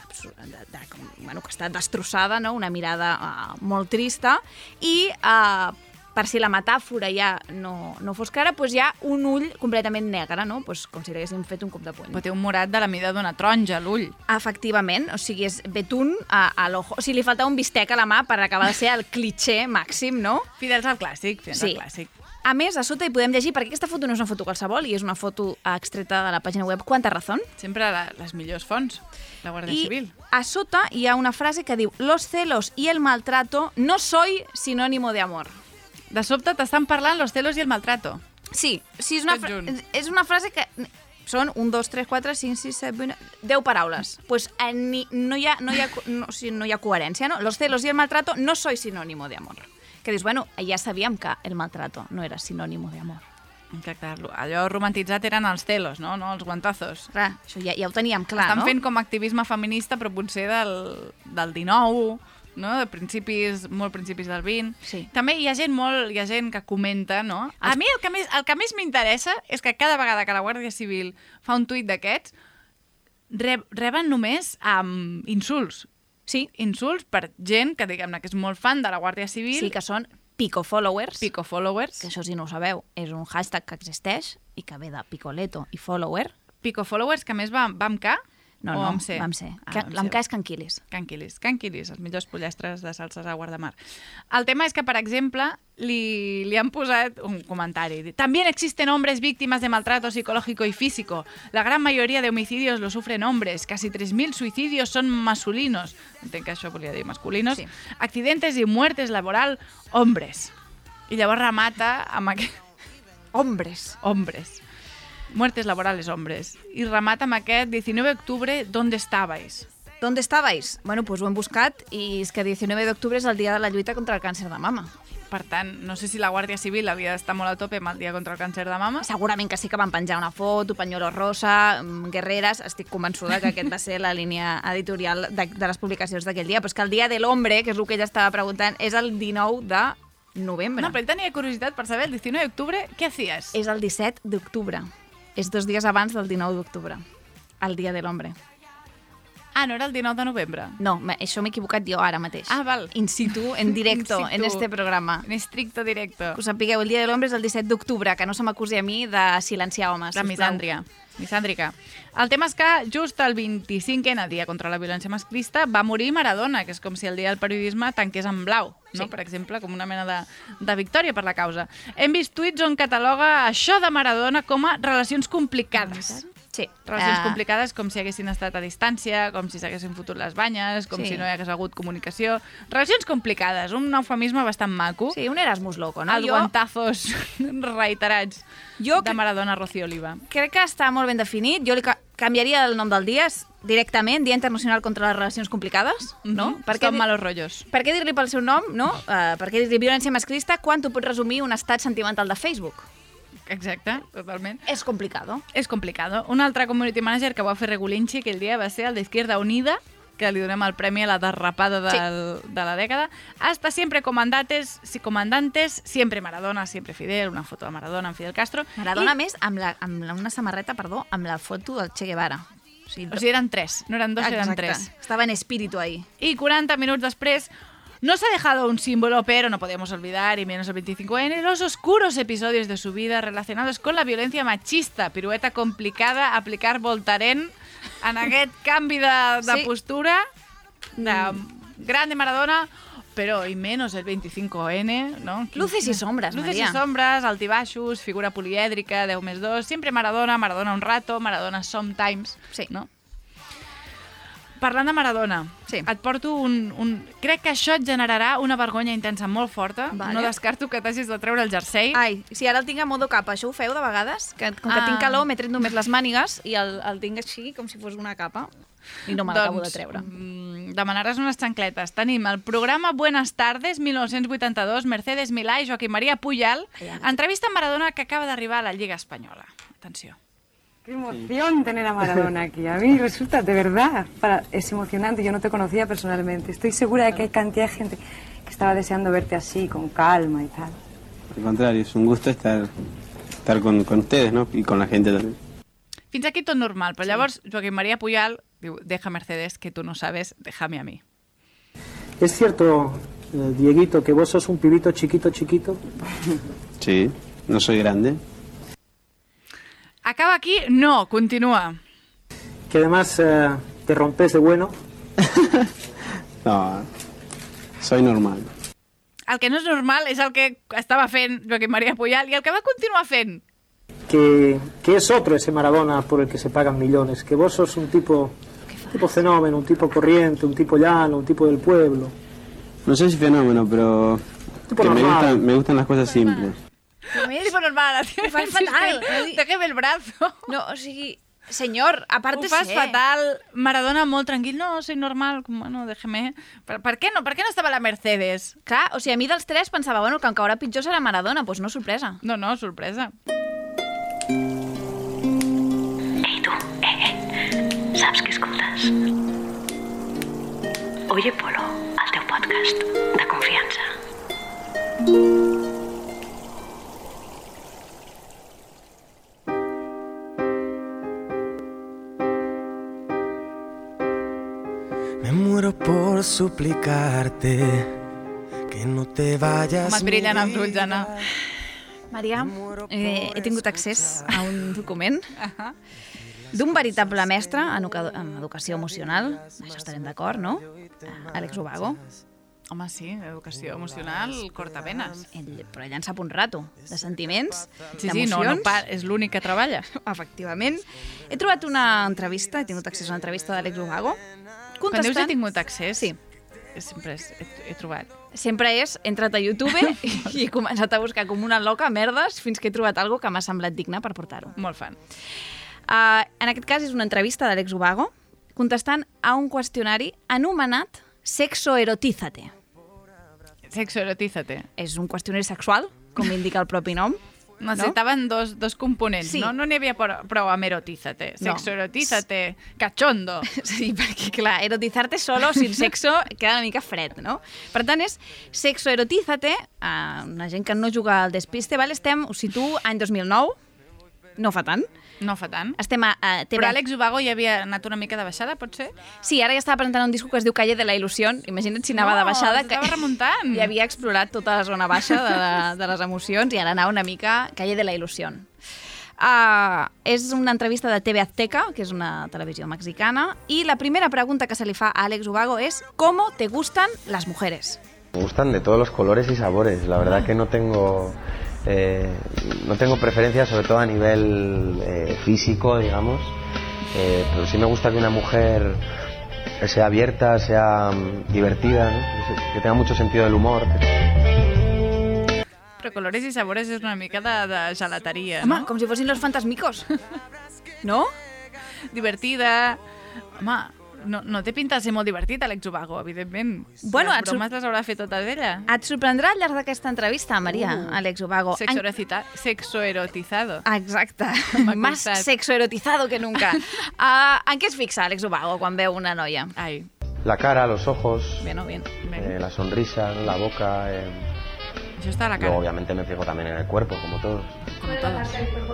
que està destrossada, no? Una mirada molt trista, i per si la metàfora ja no fos clara, hi ha un ull completament negre, no? Com si li haguéssim fet un cop de puny. Però té un morat de la mida d'una taronja, l'ull. Efectivament, o sigui, és betún a l'ojo. O sigui, li faltava un bistec a la mà per acabar de ser el cliché màxim, no? Fidels al clàssic, al clàssic. A més, a sota hi podem llegir, perquè aquesta foto no és una foto qualsevol, i és una foto extreta de la pàgina web Quanta Razón. Sempre les millors fonts, la Guàrdia Civil. I a sota hi ha una frase que diu «Los celos y el maltrato no soy sinónimo de amor». De sobte t'estan parlant los celos i el maltrato. Sí, és una frase que... Són 1, 2, 3, 4, 5, 6, 7, 8, 10 paraules. Pues no hi ha coherència, no? Los celos y el maltrato no soy sinónimo de amor. Que dius, ja sabíem que el maltrato no era sinònimo d'amor. Exacte, allò romantitzat eren els celos, no els guantazos. Clar, això ja ho teníem clar, no? Estan fent com activisme feminista, però potser del 19, no? De molt principis del 20. Sí. També hi ha gent que comenta, no? A mi el que més m'interessa és que cada vegada que la Guàrdia Civil fa un tuit d'aquests, reben només insults. Sí. insults per gent que, diguem-ne, que és molt fan de la Guàrdia Civil. Sí, que són picofollowers. Picofollowers. Que això, si no ho sabeu, és un hashtag que existeix i que ve de picoleto i follower. Picofollowers, que a més va amb K No, o no, amb C? vam ser. Amb Amb C. K és canquilis. Canquilis, els millors pollastres de salses a Guardamar. El tema és que, per exemple, li han posat un comentari. También existen hombres víctimas de maltrato psicológico y físico. La gran mayoría de homicidios lo sufren hombres. Casi 3.000 suicidios son masculinos. Entenc que això volia dir masculinos. Sí. Accidentes y muertes laboral, hombres. I llavors remata amb aquest... Hombres. Hombres. Muertes laborales, hombres. I remata amb aquest 19 de octubre, ¿dónde estabais? ¿Dónde estabais? Bueno, pues ho hem buscat i és que 19 d'octubre és el dia de la lluita contra el càncer de mama. Per tant, no sé si la Guàrdia Civil havia d'estar molt a tope amb el dia contra el càncer de mama. Segurament que sí que van penjar una foto, pañuelo rosa, guerreres. Estic convençuda que aquest va ser la línia editorial de les publicacions d'aquell dia. Però és que el dia de l'hombre, que és el que ella estava preguntant, és el 19 de novembre. No, però ell tenia curiositat per saber el 19 d'octubre què hacías? És el 17 d'octubre. És 2 dies abans del 19 d'octubre. El dia de l'hombre. Ah, no era el 19 de novembre? No, això m'he equivocat jo ara mateix. Ah, val. In situ, en directo, In situ. en este programa. En estricto directo. Que ho sapigueu, el dia de l'hombre és el 17 d'octubre, que no se m'acusi a mi de silenciar homes. La misàndria. Misàndrica. El tema és que just el 25è dia contra la violència masclista va morir Maradona, que és com si el dia del periodisme tanqués en blau, no? Sí. Per exemple, com una mena de victòria per la causa. Hem vist tuits on cataloga això de Maradona com a relacions complicades. Sí. Relacions complicades com si haguessin estat a distància, com si s'haguessin fotut les banyes, com Sí. si no hi hagués hagut comunicació. Relacions complicades, un eufemisme bastant maco. Sí, un Erasmus loco, no? Els guantazos reiterats de Maradona Rocío Oliva. Crec que està molt ben definit. Jo li canviaria el nom del dia directament, Dia Internacional contra les Relacions Complicades, no? Stop malos rollos. Per què dir-li pel seu nom, no? Per què dir-li violència masclista quan tu pots resumir un estat sentimental de Facebook? Exacte, totalment. És complicado. És complicado. Un altre community manager que va fer Regulinchi aquell dia va ser el d'Izquierda Unida, que li donem el premi a la derrapada de la dècada. Hasta siempre comandantes, siempre Maradona, siempre Fidel, una foto de Maradona amb Fidel Castro. Maradona, més, amb una samarreta, amb la foto del Che Guevara. O sigui, eren 3, no eren 2, eren 3. Estava en espíritu ahí. Y 40 minutos después, no se ha dejado un símbolo, pero no podemos olvidar, y menos el 25N, los oscuros episodios de su vida relacionados con la violencia machista. Pirueta complicada, aplicar Voltaren en aquest canvi de postura de grande Maradona, però y menos el 25N, ¿no? Luces y sombras, Luces María. y sombras, altibaixos, figura polièdrica, 10+2, siempre Maradona, Maradona un rato, Maradona sometimes, Sí. no? Parlant de Maradona, Sí. et porto crec que això et generarà una vergonya intensa molt forta. Vale. No descarto que t'hagis de treure el jersei. Ai, si ara el tinc a modo capa, això ho feu de vegades? Com que tinc calor, m'he tret només les mànigues i el tinc així com si fos una capa i no me l'acabo de treure. Demanaràs unes xancletes. Tenim el programa Buenas Tardes, 1982, Mercedes Milà i Joaquim María Pujal, entrevista amb Maradona que acaba d'arribar a la Lliga Espanyola. Atenció. Qué emoción tener a Maradona aquí. A mí resulta, de verdad, es emocionante. Yo no te conocía personalmente. Estoy segura de que hay cantidad de gente que estaba deseando verte así, con calma y tal. Al contrario, es un gusto estar con ustedes, ¿no? Y con la gente también. Fins aquí tot normal, però llavors Joaquim María Pujal diu, deja Mercedes, que tú no sabes, déjame a mí. ¿Es cierto, Dieguito, que vos sos un pibito chiquito? Sí, no soy grande. Acaba aquí? No, continua. Que además te rompes de bueno. No, soy normal. El que no és normal és el que estava fent Joaquim María Pujal i el que va continuar fent. Que es otro ese Maradona por el que se pagan millones. Que vos sos un tipo fenómeno, un tipo corriente, un tipo llano, un tipo del pueblo. No sé si fenómeno, pero Tipo que normal. me gustan las cosas simples. Tipo normal. Ho fas fatal. Déjame el brazo. No, o sigui, senyor, a part de Ho fas ser... fatal. Maradona molt tranquil. No, soy normal. Bueno, déjame. Per què no? Per què no estava la Mercedes? Clar, o sigui, a mi dels tres pensava, bueno, que em caurà pitjor serà Maradona, doncs no, sorpresa. No, sorpresa. Ei, tu, saps què escoltes? Oye Polo, el teu podcast de confiança. Me muero por suplicarte que no te vayas. Com et brillen els ulls, Anna. Maria, he tingut accés a un document d'un veritable mestre en educació emocional. Això estarem d'acord, no? Àlex Ubago. Home, sí, educació emocional, cortavenes. Però ell en sap un rato, de sentiments, Sí, d'emocions. no, és l'únic que treballa. Efectivament. He trobat una entrevista, he tingut accés a una entrevista d'Àlex Ubago. Quan dius he tingut accés? Sí. Sempre he trobat. Sempre he entrat a YouTube i he començat a buscar com una loca merdes fins que he trobat alguna que m'ha semblat digne per portar-ho. Molt fan. En aquest cas és una entrevista d'Àlex Ubago contestant a un qüestionari anomenat Sexoerotízate. Sexoerotízate. És un qüestionari sexual, com indica el propi nom. Necessitaven dos components, Sí. no? No n'hi havia prou amb erotízate. No. Sexoerotízate, cachondo. Sí, perquè, clar, erotizarte solo, sin sexo, queda una mica fred, no? Per tant, és sexoerotízate, una gent que no juga al despiste, val? Estem, us situo, any 2009, no fa tant. No fa tant. Estem a TV... Però Àlex Ubago ja havia anat una mica de baixada, pot ser? Sí, ara ja estava presentant un disco que es diu Calle de la Ilusión. Imagina't si anava de baixada. Estava remuntant. I havia explorat tota la zona baixa de les emocions i ara anava una mica Calle de la Ilusión. És una entrevista de TV Azteca, que és una televisió mexicana, i la primera pregunta que se li fa a Àlex Ubago és ¿Cómo te gustan las mujeres? Me gustan de todos los colores y sabores. La verdad que no tengo preferencias, sobre todo a nivel físico, digamos. Pero sí me gusta que una mujer sea abierta, sea divertida, ¿no? Que tenga mucho sentido del humor. Però colores i sabores és una mica de gelateria, Home, no? com si fossin los fantasmicos. No? Divertida. Home, no té pinta de ser molt divertit, Àlex Ubago, evidentment. Bueno, les bromes les haurà fet totes ella. Et sorprendrà al llarg d'aquesta entrevista, Maria, Àlex Ubago. Sexoerotizado. Exacte. Más costat. sexoerotizado que nunca. En què es fixa Àlex Ubago quan veu una noia? Ai. La cara, los ojos, Bien, bien. la sonrisa, ¿no? La boca. Això està a la cara. Luego, obviamente, me fijo también en el cuerpo, como todos. Como todos.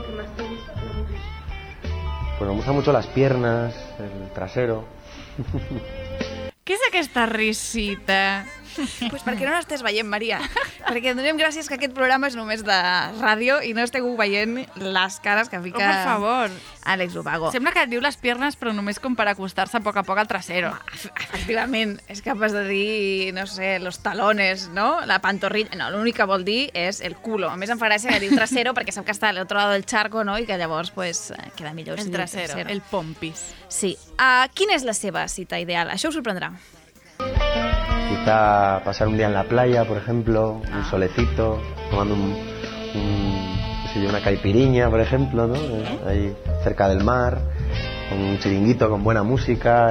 Pues me gustan mucho las piernas, el trasero. Què és aquesta risita? Pues perquè no l'estàs veient, Maria. Perquè donem gràcies que aquest programa és només de ràdio i no esteu veient les cares que fica Per favor. Àlex Ubago. Sembla que et diu les piernes, però només com per acostar-se a poc al trasero. Efectivament, és capaç de dir, no sé, los talones, ¿no? La pantorrilla. No, l'únic que vol dir és el culo. A més, em fa gràcia que diu trasero perquè sap que està a l'altre lado del charco, no? I que llavors, pues, queda millor. El si diu trasero, el pompis. Sí. Quina és la seva cita ideal? Això us sorprendrà. Quizá pasar un día en la playa, por ejemplo, un solecito, tomando una caipiriña, por ejemplo, ¿no? Ahí cerca del mar, con un chiringuito con buena música,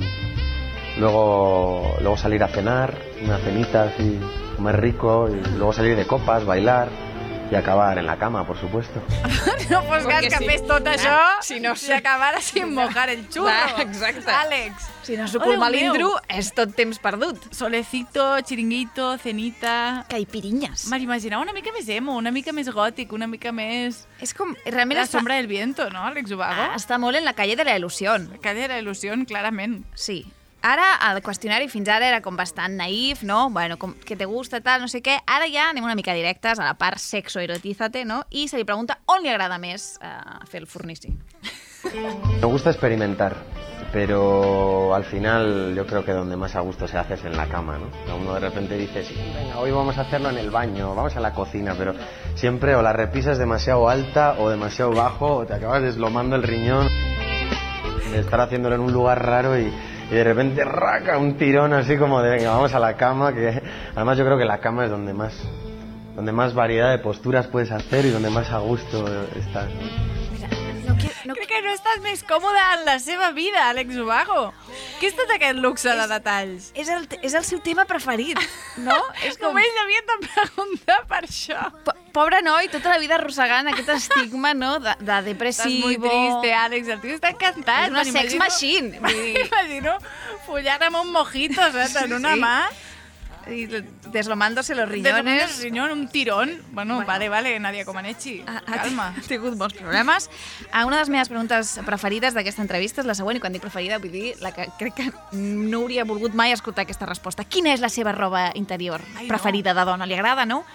luego salir a cenar, una cenita así, comer rico, y luego salir de copas, bailar y acabar en la cama, por supuesto. No fos gas que fes tot això si no i acabara sin mojar el xurro. Exacte. Àlex. Si no suco el malindro, és tot temps perdut. Solecito, chiringuito, cenita... Caipirinyes. M'imaginava una mica més emo, una mica més gòtic, una mica més... És com... Realment La sombra del viento, no, Àlex Ubago? Està molt en la calle de la ilusión. La calle de la ilusión, clarament. Sí. Ara, el qüestionari fins ara era com bastant naïf, no? Bueno, com que te gusta, tal, no sé què. Ara ja anem una mica directes a la part sexoerotízate, no? I se li pregunta on li agrada més fer el fornici. Me gusta experimentar, pero al final yo creo que donde más a gusto se hace es en la cama, ¿no? Uno de repente dice, sí, venga, hoy vamos a hacerlo en el baño, vamos a la cocina, pero siempre o la repisa es demasiado alta o demasiado bajo o te acabas deslomando el riñón de estar haciéndolo en un lugar raro y de repente raca un tirón así como de venga, vamos a la cama, que además yo creo que la cama es donde más variedad de posturas puedes hacer y donde más a gusto estás, ¿no? Crec que no estàs més còmode en la seva vida, Àlex Ubago. Què és tot aquest luxe de detalls? És el seu tema preferit, no? És com... Només l'havia de preguntar per això. Pobre noi, tota la vida arrossegant aquest estigma, no?, de depressivo... Estàs molt triste, Àlex, el tio està encantat. És una sex machine. M'imagino follar amb un mojito, saps, en una mà. Y deslomándose los riñones. Un tirón. Bueno, vale, Nadia Comaneci. Calma. Ha tingut molts problemes. Una de les meves preguntes preferides d'aquesta entrevista és la següent, i quan dic preferida vull dir la que crec que no hauria volgut mai escoltar aquesta resposta. Quina és la seva roba interior preferida de dona? Li agrada, no?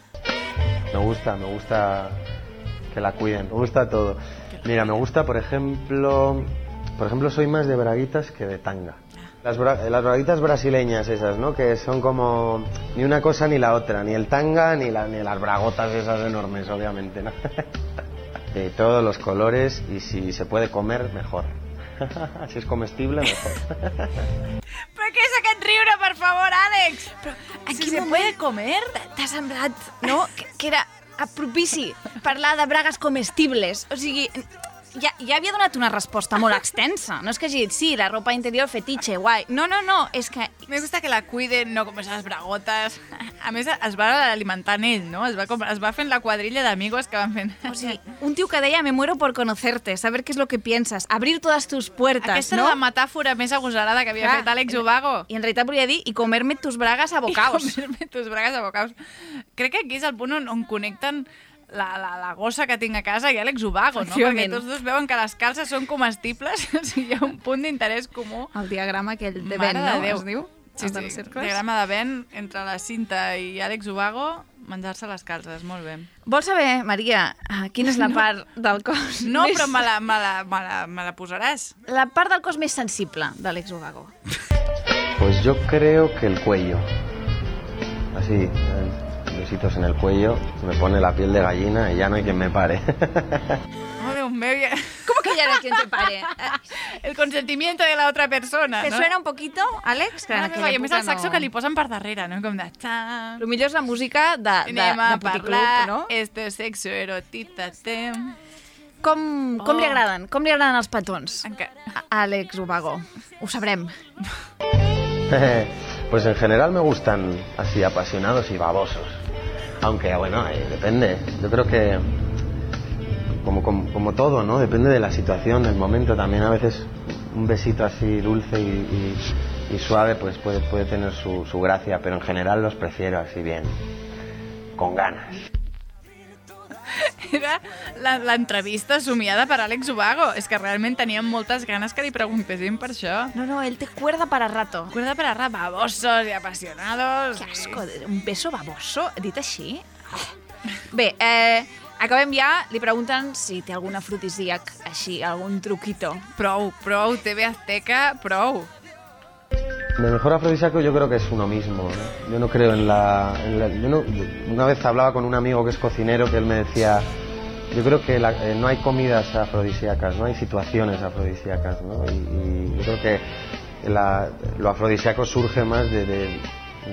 Me gusta que la cuiden, me gusta todo. Mira, me gusta, por ejemplo, soy más de braguitas que de tanga. Las braguitas brasileñas esas, ¿no? Que son como ni una cosa ni la otra, ni el tanga ni las bragotas esas enormes, obviamente, ¿no? De todos los colores y si se puede comer, mejor. Si és comestible, mejor. Però què és aquest riure, per favor, Àlex? Però si se puede comer? T'ha semblat, no?, que era propici parlar de bragues comestibles. O sigui, ja havia donat una resposta molt extensa. No és que hagi dit, sí, la ropa interior fetitxe, guai. No, és que... Me gusta que la cuiden, no com esas bragotes. A més, es va alimentant ell, no? Es va fent la quadrilla d'amigos que van fent... O sigui, un tio que deia, me muero por conocerte, saber qué es lo que piensas, abrir todas tus puertas, Aquesta no? és la metàfora més agosarada que havia fet Àlex Ubago. I en realitat volia dir, i comerme tus bragas a bocaos. I comerme tus bragas a bocaos. Crec que aquí és el punt on connecten la gossa que tinc a casa i Àlex Ubago, no? Perquè tots dos veuen que les calces són comestibles, o sigui, hi ha un punt d'interès comú. El diagrama aquell de Venn, no? Es diu? Sí, diagrama de Venn entre la Cinta i Àlex Ubago, menjar-se les calces, molt bé. Vols saber, Maria, quina és la part del cos No, però me la posaràs. La part del cos més sensible d'Àlex Ubago. Pues yo creo que el cuello. Así, besitos en el cuello, me pone la piel de gallina y ya no hay quien me pare. Oh, Dios mío. ¿Cómo que ya no hay quien te pare? El consentimiento de la otra persona, ¿Te no? suena un poquito, Àlex? I a més el saxo que li posen per darrere, no? Com de... El millor és la música de puticlub, no? Esto es sexo, erotízate. Com li agraden? Com li agraden els petons? A Àlex Ubago. Ho sabrem. Pues en general me gustan así apasionados y babosos. Aunque, bueno, depende. Yo creo que, como todo, ¿no? Depende de la situación, del momento. También a veces un besito así dulce y suave pues puede tener su gracia, pero en general los prefiero así bien, con ganas. Era l'entrevista somiada per Àlex Ubago. És que realment teníem moltes ganes que li preguntéssim per això. No, él te cuerda para rato. Cuerda para rato, babosos y apasionados. Qué asco, un beso baboso, dit així. Bé, acabem ja. Li pregunten si té algun afrodisíac així, algun truquito. Prou, TV Azteca, prou. El mejor afrodisíaco yo creo que es uno mismo, ¿no? Yo no creo una vez hablaba con un amigo que es cocinero que él me decía, yo creo que no hay comidas afrodisíacas, no hay situaciones afrodisíacas, ¿no? Y yo creo que lo afrodisíaco surge más de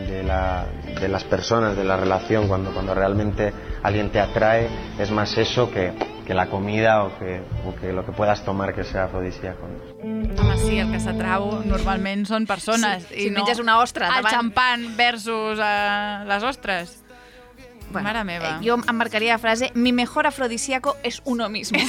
las personas, de la relación, cuando realmente alguien te atrae, es más eso que la comida o que lo que puedas tomar que sea afrodisíaco. Home, sí, el que s'atrau normalment són persones. Sí, si menges una ostra el xampan versus les ostres. Bueno, mare meva. Jo em marcaria la frase, mi mejor afrodisíaco es uno mismo.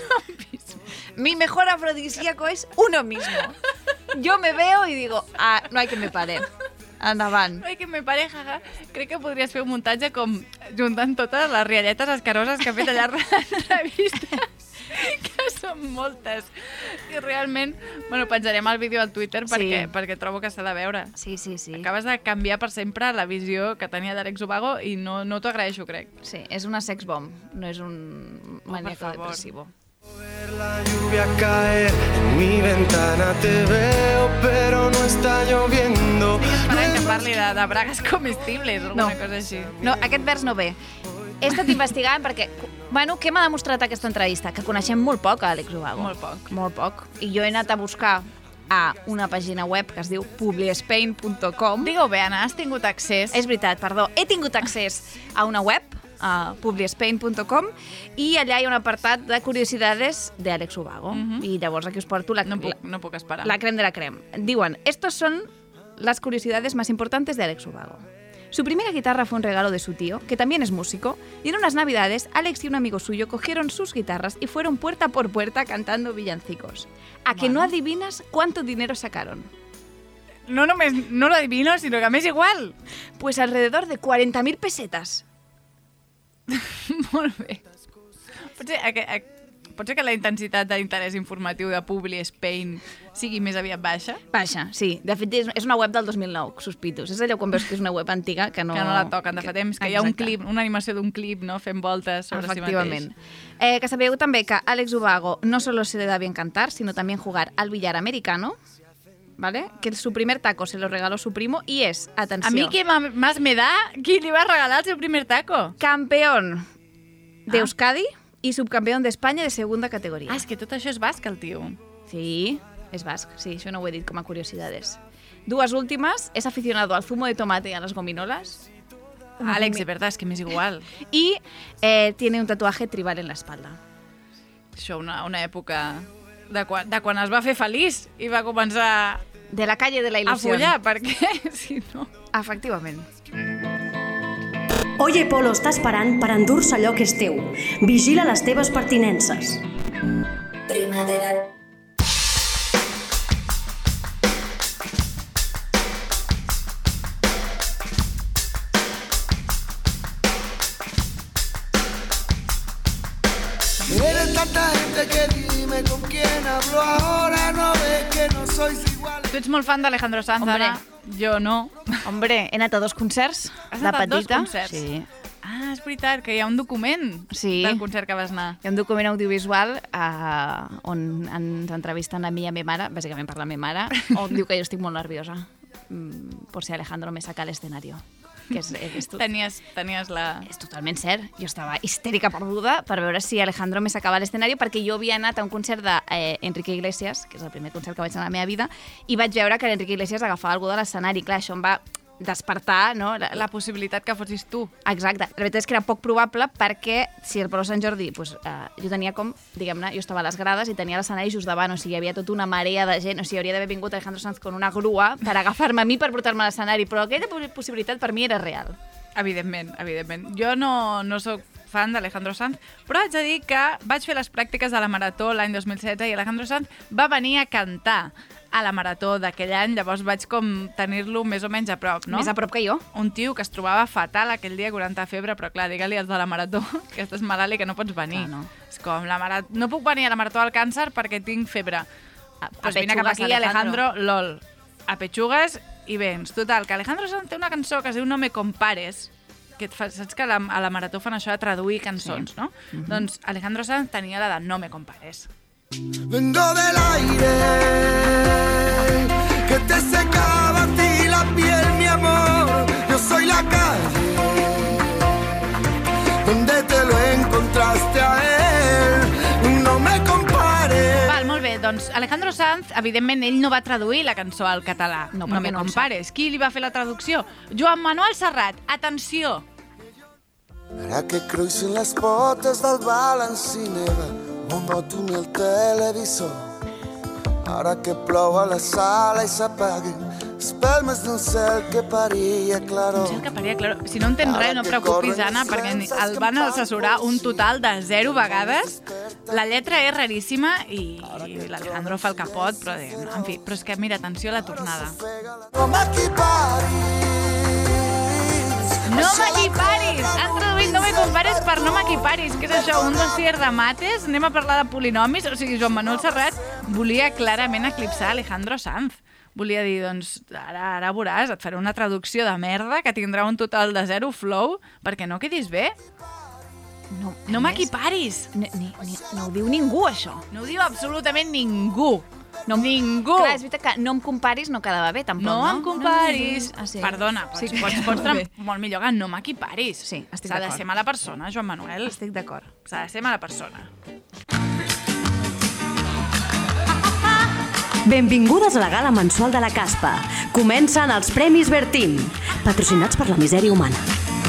Mi mejor afrodisíaco es uno mismo. Yo me veo y digo, no hay que me pare. Endavant. Ai, que me pareja. Crec que podries fer un muntatge com juntant totes les rialletes escaroses que ha fet allà a l'entrevista, que són moltes. I realment, bueno, penjarem el vídeo al Twitter perquè trobo que s'ha de veure. Sí. Acabes de canviar per sempre la visió que tenia d'Àlex Ubago i no t'ho agraeixo, crec. Sí, és una sex bomb, no és un maníaco depresivo. La lluvia caer en mi ventana, te veo pero no está lloviendo. Estic esperant que parli de bragues comestibles o alguna cosa així. No, aquest vers no ve. He estat investigant perquè, bueno, què m'ha demostrat aquesta entrevista? Que coneixem molt poc a Àlex Ubago. Molt poc. I jo he anat a buscar a una pàgina web que es diu publiespain.com. Digue-ho bé, Anna, has tingut accés. És veritat, perdó. He tingut accés a una web, a publiespain.com, i allà hi ha un apartat de curiosidades de Àlex Ubago. I llavors aquí us porto no puc esperar. La creme de la creme. Diuen, estos son las curiosidades más importantes de Àlex Ubago. Su primera guitarra fue un regalo de su tío, que también es músico, y en unas navidades, Àlex y un amigo suyo cogieron sus guitarras y fueron puerta por puerta cantando villancicos. ¿A que no adivinas cuánto dinero sacaron? no només no lo adivino, sinó que m'és igual. Pues alrededor de 40.000 pesetes. Molt bé. Pot ser que la intensitat d'interès informatiu de Publi Spain sigui més aviat baixa? Baixa, sí. De fet, és una web del 2009, sospito. És allò quan veus que és una web antiga que no la toquen de fa temps, que hi ha un clip, una animació d'un clip, no? Fent voltes sobre si mateix. Que sabeu també que Alex Ubago no solo se le da bien cantar, sino también jugar al billar americano, ¿vale? Que su primer taco se lo regaló su primo y es, atenció... A mi què más me da? Qui li va regalar el seu primer taco? Campeón de Euskadi y subcampeón de España de segunda categoría. És que tot això és basc, el tio. Sí, és basc, sí, això no ho he dit com a curiositats. Dues últimes, és aficionado al zumo de tomate y a las gominolas. Àlex, de verdad, és que m'és igual. Y tiene un tatuaje tribal en la espalda. Això, una època de quan es va fer feliç i va començar... De la calle de la ilusión. A follar, perquè si no... Efectivament. Oye Polo està esperant per endur-se allò que és teu. Vigila les teves pertinences. Primavera. Eres tanta gente que dime con quién hablo ahora, no ves que no sois iguales. Tu ets molt fan d'Alejandro Sanz, Hombre. Anna. Jo no. Hombre, he anat a 2 concerts. Has de anat a 2 petita. concerts? Sí. Ah, és veritat, que hi ha un document del concert que vas anar. Hi ha un document audiovisual on ens entrevisten a mi i a mi mare, bàsicament per la meva mare, on diu que jo estic molt nerviosa por si Alejandro me saca al escenario. Que és Tenies la... És totalment cert. Jo estava histèrica perduda per veure si Alejandro me sacava a l'escenari perquè jo havia anat a un concert d'Enrique Iglesias, que és el primer concert que vaig anar a la meva vida, i vaig veure que l'Enrique Iglesias agafava algú de l'escenari. Clar, això em va despertar, no? La possibilitat que fossis tu. Exacte. La veritat és que era poc probable perquè si el Polo Sant Jordi, jo tenia com, diguem-ne, jo estava a les grades i tenia l'escenari just davant, o sigui, hi havia tota una marea de gent, o sigui, hauria d'haver vingut Alejandro Sanz con una grua per agafar-me a mi per portar-me a l'escenari, però aquella possibilitat per mi era real. Evidentment, evidentment. Jo no sóc fan d'Alejandro Sanz, però haig de dir que vaig fer les pràctiques de la Marató l'any 2016 i Alejandro Sanz va venir a cantar a la Marató d'aquell any, llavors vaig com tenir-lo més o menys a prop, no? Més a prop que jo. Un tio que es trobava fatal aquell dia, 40 de febre, però clar, digue-li als de la Marató que estàs malalt i que no pots venir. Ah, no. És com, no puc venir a la Marató del Càncer perquè tinc febre. Pues vine cap aquí, Alejandro, lol. A pechugues i vens. Total, que Alejandro Sanz té una cançó que es diu No me compares, que saps que a la Marató fan això de traduir cançons, no? Doncs Alejandro Sanz tenia la de No me compares. Vengo del aire que te secaba a ti la piel, mi amor. Yo soy la calle donde te lo encontraste a él. No me compares. Val, molt bé, doncs Alejandro Sanz, evidentment, ell no va traduir la cançó al català. No me compares. Qui li va fer la traducció? Joan Manuel Serrat. Atenció. Ara que cruixen les potes del balancinera, monòton el televisor. Ara que plou a la sala i s'apaguen espelmes d'un cel que paria claror. Un cel que paria claror. Si no entens res, no et preocupis, Anna, perquè el van assessorar un total de 0 vegades. La lletra és raríssima i l'Alejandro fa el que pot, però en fi, però és que mira, atenció a la tornada. No m'equiparis. No m'equiparis! Han traduït No me compares per No m'equiparis. Què és això, un dossier de mates? Anem a parlar de polinomis? O sigui, Joan Manuel Serrat volia clarament eclipsar Alejandro Sanz. Volia dir, doncs, ara veuràs, et faré una traducció de merda que tindrà un total de 0 flow perquè no quedis bé. No m'equiparis! No ho diu ningú, això. No ho diu absolutament ningú. Ningú. Clar, és veritat que no em comparis no quedava bé, tampoc, no? No em comparis. Sí. Perdona, sí, pots molt millor que no m'equiparis. Sí, estic S'ha d'acord. de ser mala persona, Joan Manuel. Estic d'acord. S'ha de ser mala persona. Benvingudes a la gala mensual de la Caspa. Comencen els Premis Bertín, patrocinats per la misèria humana.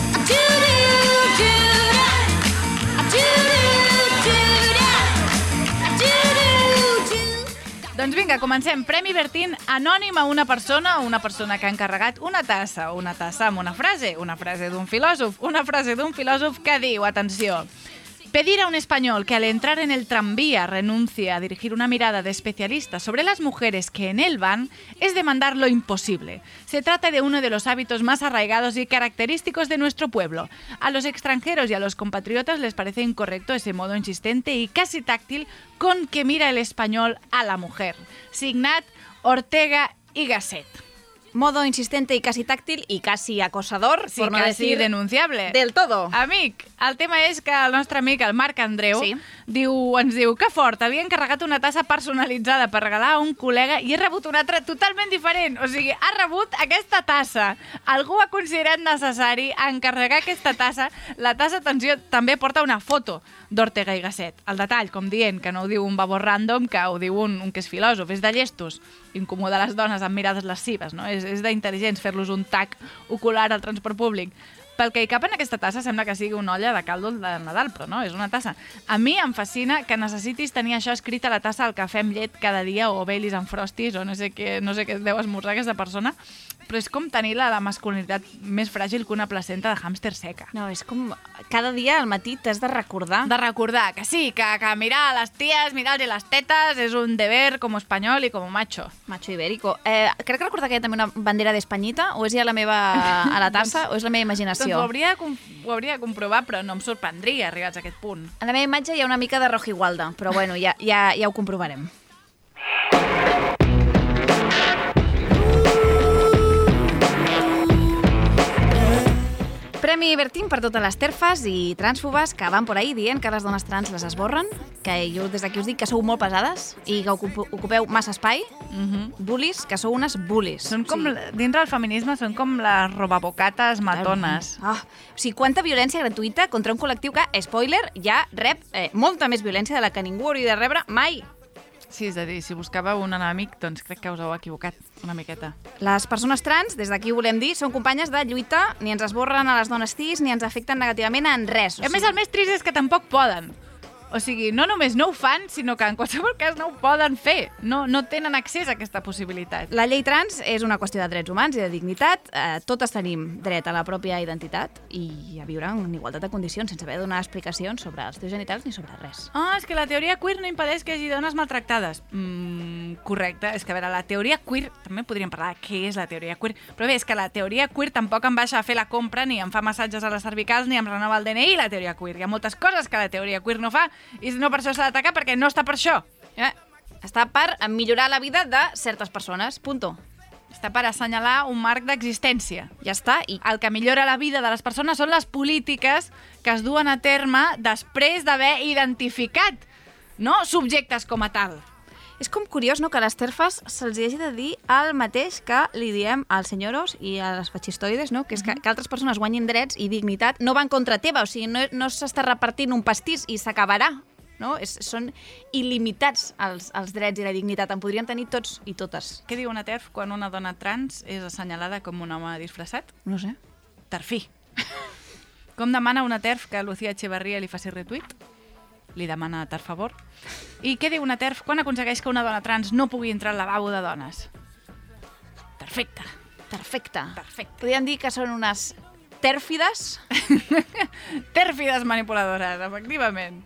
Doncs vinga, comencem. Premi Bertín anònim a una persona que ha encarregat una tassa amb una frase d'un filòsof que diu, atenció, Pedir a un español que al entrar en el tranvía renuncie a dirigir una mirada de especialista sobre las mujeres que en él van es demandar lo imposible. Se trata de uno de los hábitos más arraigados y característicos de nuestro pueblo. A los extranjeros y a los compatriotas les parece incorrecto ese modo insistente y casi táctil con que mira el español a la mujer. Signat Ortega y Gasset. Modo insistente y casi táctil y casi acosador, Sí, por no quasi decir denunciable. del todo. Amic, el tema és que el nostre amic, el Marc Andreu, Sí. ens diu que fort, havia encarregat una tassa personalitzada per regalar a un col·lega i he rebut una altra totalment diferent. O sigui, ha rebut aquesta tassa. Algú ha considerat necessari encarregar aquesta tassa. La tassa, atenció, també porta una foto d'Ortega i Gasset. El detall, com dient, que no ho diu un babó random, que ho diu un que és filòsof, és de llestos. Incomoda les dones amb mirades lascives, no? És d'intel·ligents fer-los un tac ocular al transport públic. Pel que hi cap en aquesta tassa sembla que sigui una olla de caldo de Nadal, però no, és una tassa. A mi em fascina que necessitis tenir això escrit a la tassa al cafè amb llet cada dia o Baileys amb Frosties o no sé què es deu esmorzar aquesta persona, però és com tenir la masculinitat més fràgil que una placenta de hàmster seca. No, és com cada dia al matí t'has de recordar. De recordar que sí, que mirar a les ties, mirar-li les tetes és un deber com espanyol i com macho. Macho ibérico. Crec que recordar que hi ha també una bandera d'Espanyita, o és ja la meva a la tassa, o és la meva imaginació? Doncs ho hauria de comprovar, però no em sorprendria arribats a aquest punt. A la meva imatge hi ha una mica de Rojigualda, però bueno, ja ho comprovarem. Premi Bertín per totes les terfes i trànsfobes que van por ahí dient que les dones trans les esborren, que jo des d'aquí us dic que sou molt pesades i que ocupeu massa espai. Bullies, que sou unes bullies. Són com, dintre del feminisme, són com les robabocates matones. O sigui, quanta violència gratuïta contra un col·lectiu que, spoiler, ja rep molta més violència de la que ningú hauria de rebre mai. Sí, és a dir, si buscàveu un enemic, doncs crec que us heu equivocat una miqueta. Les persones trans, des d'aquí volem dir, són companyes de lluita, ni ens esborren a les dones cis, ni ens afecten negativament en res. A més, el més trist és que tampoc poden. O sigui, no només no ho fan, sinó que en qualsevol cas no ho poden fer. No tenen accés a aquesta possibilitat. La llei trans és una qüestió de drets humans i de dignitat. Totes tenim dret a la pròpia identitat i a viure en igualtat de condicions, sense haver de donar explicacions sobre els teus genitals ni sobre res. És que la teoria queer no impedeix que hi hagi dones maltractades. Correcte. És que, a veure, la teoria queer... També podríem parlar de què és la teoria queer, però bé, és que la teoria queer tampoc em baixa a fer la compra, ni em fa massatges a les cervicals, ni em renova el DNI, la teoria queer. Hi ha moltes coses que la teoria queer no fa, i no per això s'ha d'atacar, perquè no està per això. Està per millorar la vida de certes persones, punto. Està per assenyalar un marc d'existència. Ja està. I el que millora la vida de les persones són les polítiques que es duen a terme després d'haver identificat, no, subjectes com a tal. És com curiós, no?, que a les terfes se'ls hagi de dir el mateix que li diem als senyoros i a les fascistoides, no?, que és que altres persones guanyin drets i dignitat no van contra teva, o sigui, no s'està repartint un pastís i s'acabarà, no? Són il·limitats els drets i la dignitat, en podrien tenir tots i totes. Què diu una TERF quan una dona trans és assenyalada com un home disfressat? No sé. Terfí. Com demana una TERF que Lucía Echeverría li faci retweet? Li demana per favor. I què diu una TERF quan aconsegueix que una dona trans no pugui entrar al lavabo de dones? Perfecte. Perfecte. Podríem dir que són unes tèrfides. Tèrfides manipuladores, efectivament.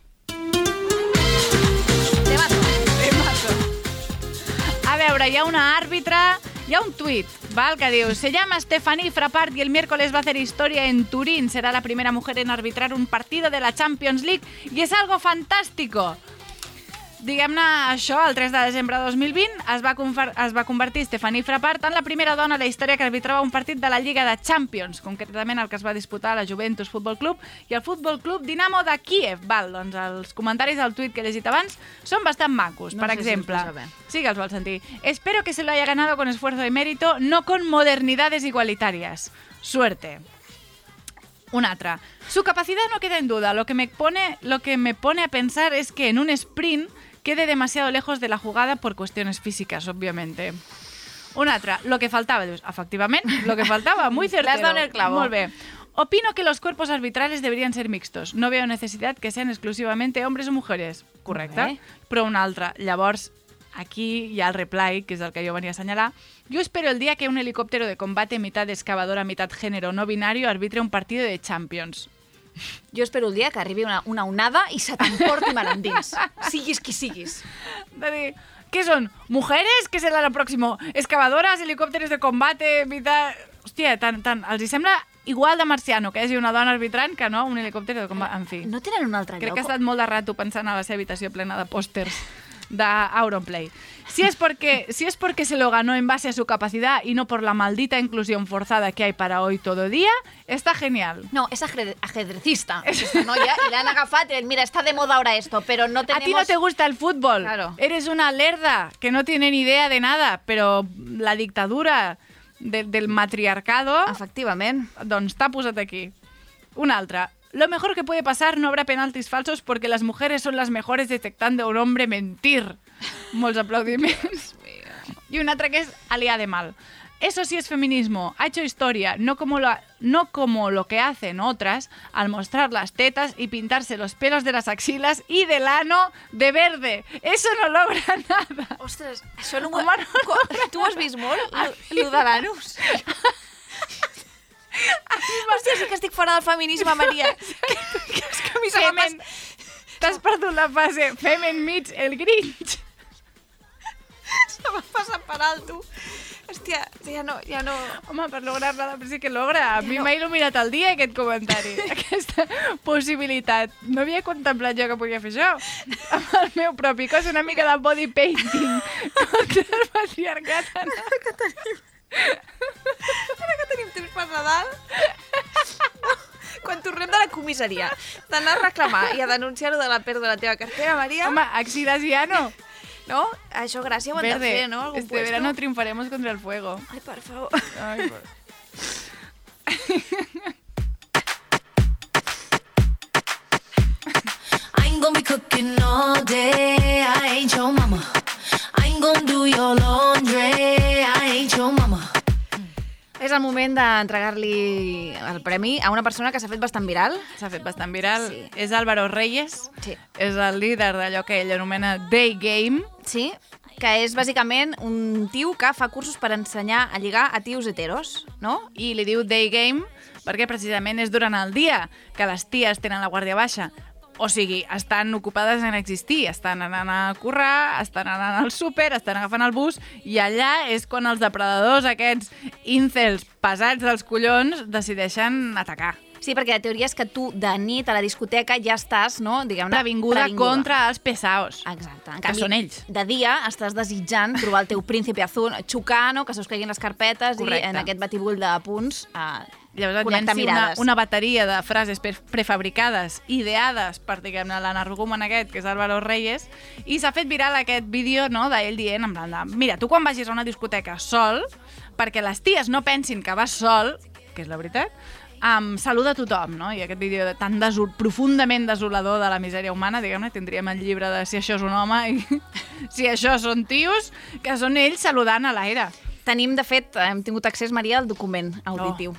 Temazo. A veure, hi ha una àrbitre, hi ha un tuit, ¿vale? Que diu: se llama Stephanie Frappart y el miércoles va a hacer historia en Turín. Será la primera mujer en arbitrar un partido de la Champions League y es algo fantástico. Diguem-ne, això, el 3 de desembre de 2020 es va convertir Stephanie Frappart en la primera dona a la història que arbitrava un partit de la Lliga de Champions, concretament el que es va disputar a la Juventus Futbol Club i el Futbol Club Dinamo de Kíev. Val, doncs els comentaris del tuit que he llegit abans són bastant macos. No per sé exemple, si els posa bé. sí que els vol sentir. Espero que se lo haya ganado con esfuerzo y mérito, no con modernidades igualitarias. Suerte. Un altre. Su capacidad no queda en duda. Lo que me pone a pensar es que en un sprint quede demasiado lejos de la jugada por cuestiones físicas, obviamente. Un altre. Lo que faltaba. Efectivament, lo que faltaba. Muy certero. Le has dado en el clavo. Molt bé. Opino que los cuerpos arbitrales deberían ser mixtos. No veo necesidad que sean exclusivamente hombres o mujeres. Correcte. Però un altre. Llavors, aquí hi ha el reply, que és el que jo venia a assenyalar. Yo espero el día que un helicóptero de combate mitad excavadora, mitad género no binario arbitre un partido de Champions. Jo espero el dia que arribi una onada i se t'emporti mar endins. Siguis qui siguis. De dir, què són? ¿Mujeres? ¿Qué será lo próximo? ¿Excavadoras? ¿Helicópteros de combate? Hòstia, els hi sembla igual de marciano que hi hagi una dona arbitrant que no un helicòpter de combat. En fi. No tenen un altre lloc? Crec que ha estat molt de rato pensant a la seva habitació plena de pòsters d'Auronplay. Si es porque se lo ganó en base a su capacidad y no por la maldita inclusión forzada que hay para hoy todo día, está genial. No, es ajedrecista, esta noia, y le han agafat y mira, está de moda ahora esto, pero no tenemos... A ti no te gusta el fútbol. Claro. Eres una lerda que no tiene ni idea de nada, pero la dictadura del matriarcado... Efectivament. Doncs t'ha posat aquí. Una altra. Lo mejor que puede pasar, no habrá penaltis falsos porque las mujeres son las mejores detectando a un hombre mentir. Molts aplaudiments. Y una otra que es Alia de Mal. Eso sí es feminismo. Ha hecho historia, no como lo que hacen otras al mostrar las tetas y pintarse los pelos de las axilas y del ano de verde. Eso no logra nada. Ostres, això no m'ho... Tu ho has vist molt, lo de l'anus? Hòstia, sí que estic fora del feminisme, Maria. És que a mi se m'ha T'has perdut la fase Femen meets el Grinch. Se m'ha passat per alto. Hòstia, ja no... Home, per lograr nada, però sí que logra. A mi m'ha il·luminat el dia aquest comentari, aquesta possibilitat. No havia contemplat jo que podia fer això. Amb el meu propi cos, una mica de body painting contra el patriarcat. Ara que tenim temps per Nadal... Quan tornem de la comissaria, d'anar a reclamar i a denunciar-ho de la pèrdua de la teva cartera, Maria... Home, Axilasiano. No? Això gràcia ho hem de fer, no? Algun Este verano triunfaremos contra el fuego. Ai, per favor. Ai, por... I ain't gonna be cooking all day. I ain't your mama. I ain't gonna do your laundry. I ain't your mama. És el moment d'entregar-li el premi a una persona que s'ha fet bastant viral. S'ha fet bastant viral. Sí. És Álvaro Reyes. Sí. És el líder d'allò que ell anomena Day Game. Sí, que és bàsicament un tio que fa cursos per ensenyar a lligar a tios heteros, no? I li diu Day Game perquè precisament és durant el dia que les ties tenen la guàrdia baixa. O sigui, estan ocupades en existir, estan anant a currar, estan anant al súper, estan agafant el bus, i allà és quan els depredadors, aquests incels pesats dels collons, decideixen atacar. Sí, perquè la teoria és que tu de nit a la discoteca ja estàs, no? Diguem-ne, previnguda contra els pesaos. Exacte. Que són ells. De dia estàs desitjant trobar el teu príncipe azul, xocar, no? Que se us caiguin les carpetes. Correcte. I en aquest batibull de punts llavors connectar mirades. Una bateria de frases prefabricades, ideades per, diguem-ne, l'energúmen aquest, que és Álvaro Reyes, i s'ha fet viral aquest vídeo, no?, d'ell dient, en plan de, mira, tu quan vagis a una discoteca sol, perquè les ties no pensin que vas sol, que és la veritat, saluda a tothom, no? I aquest vídeo tan profundament desolador de la misèria humana, diguem-ne, tindríem el llibre de si això és un home i si això són tios, que són ells saludant a l'aire. Tenim, de fet, hem tingut accés, Maria, al document auditiu.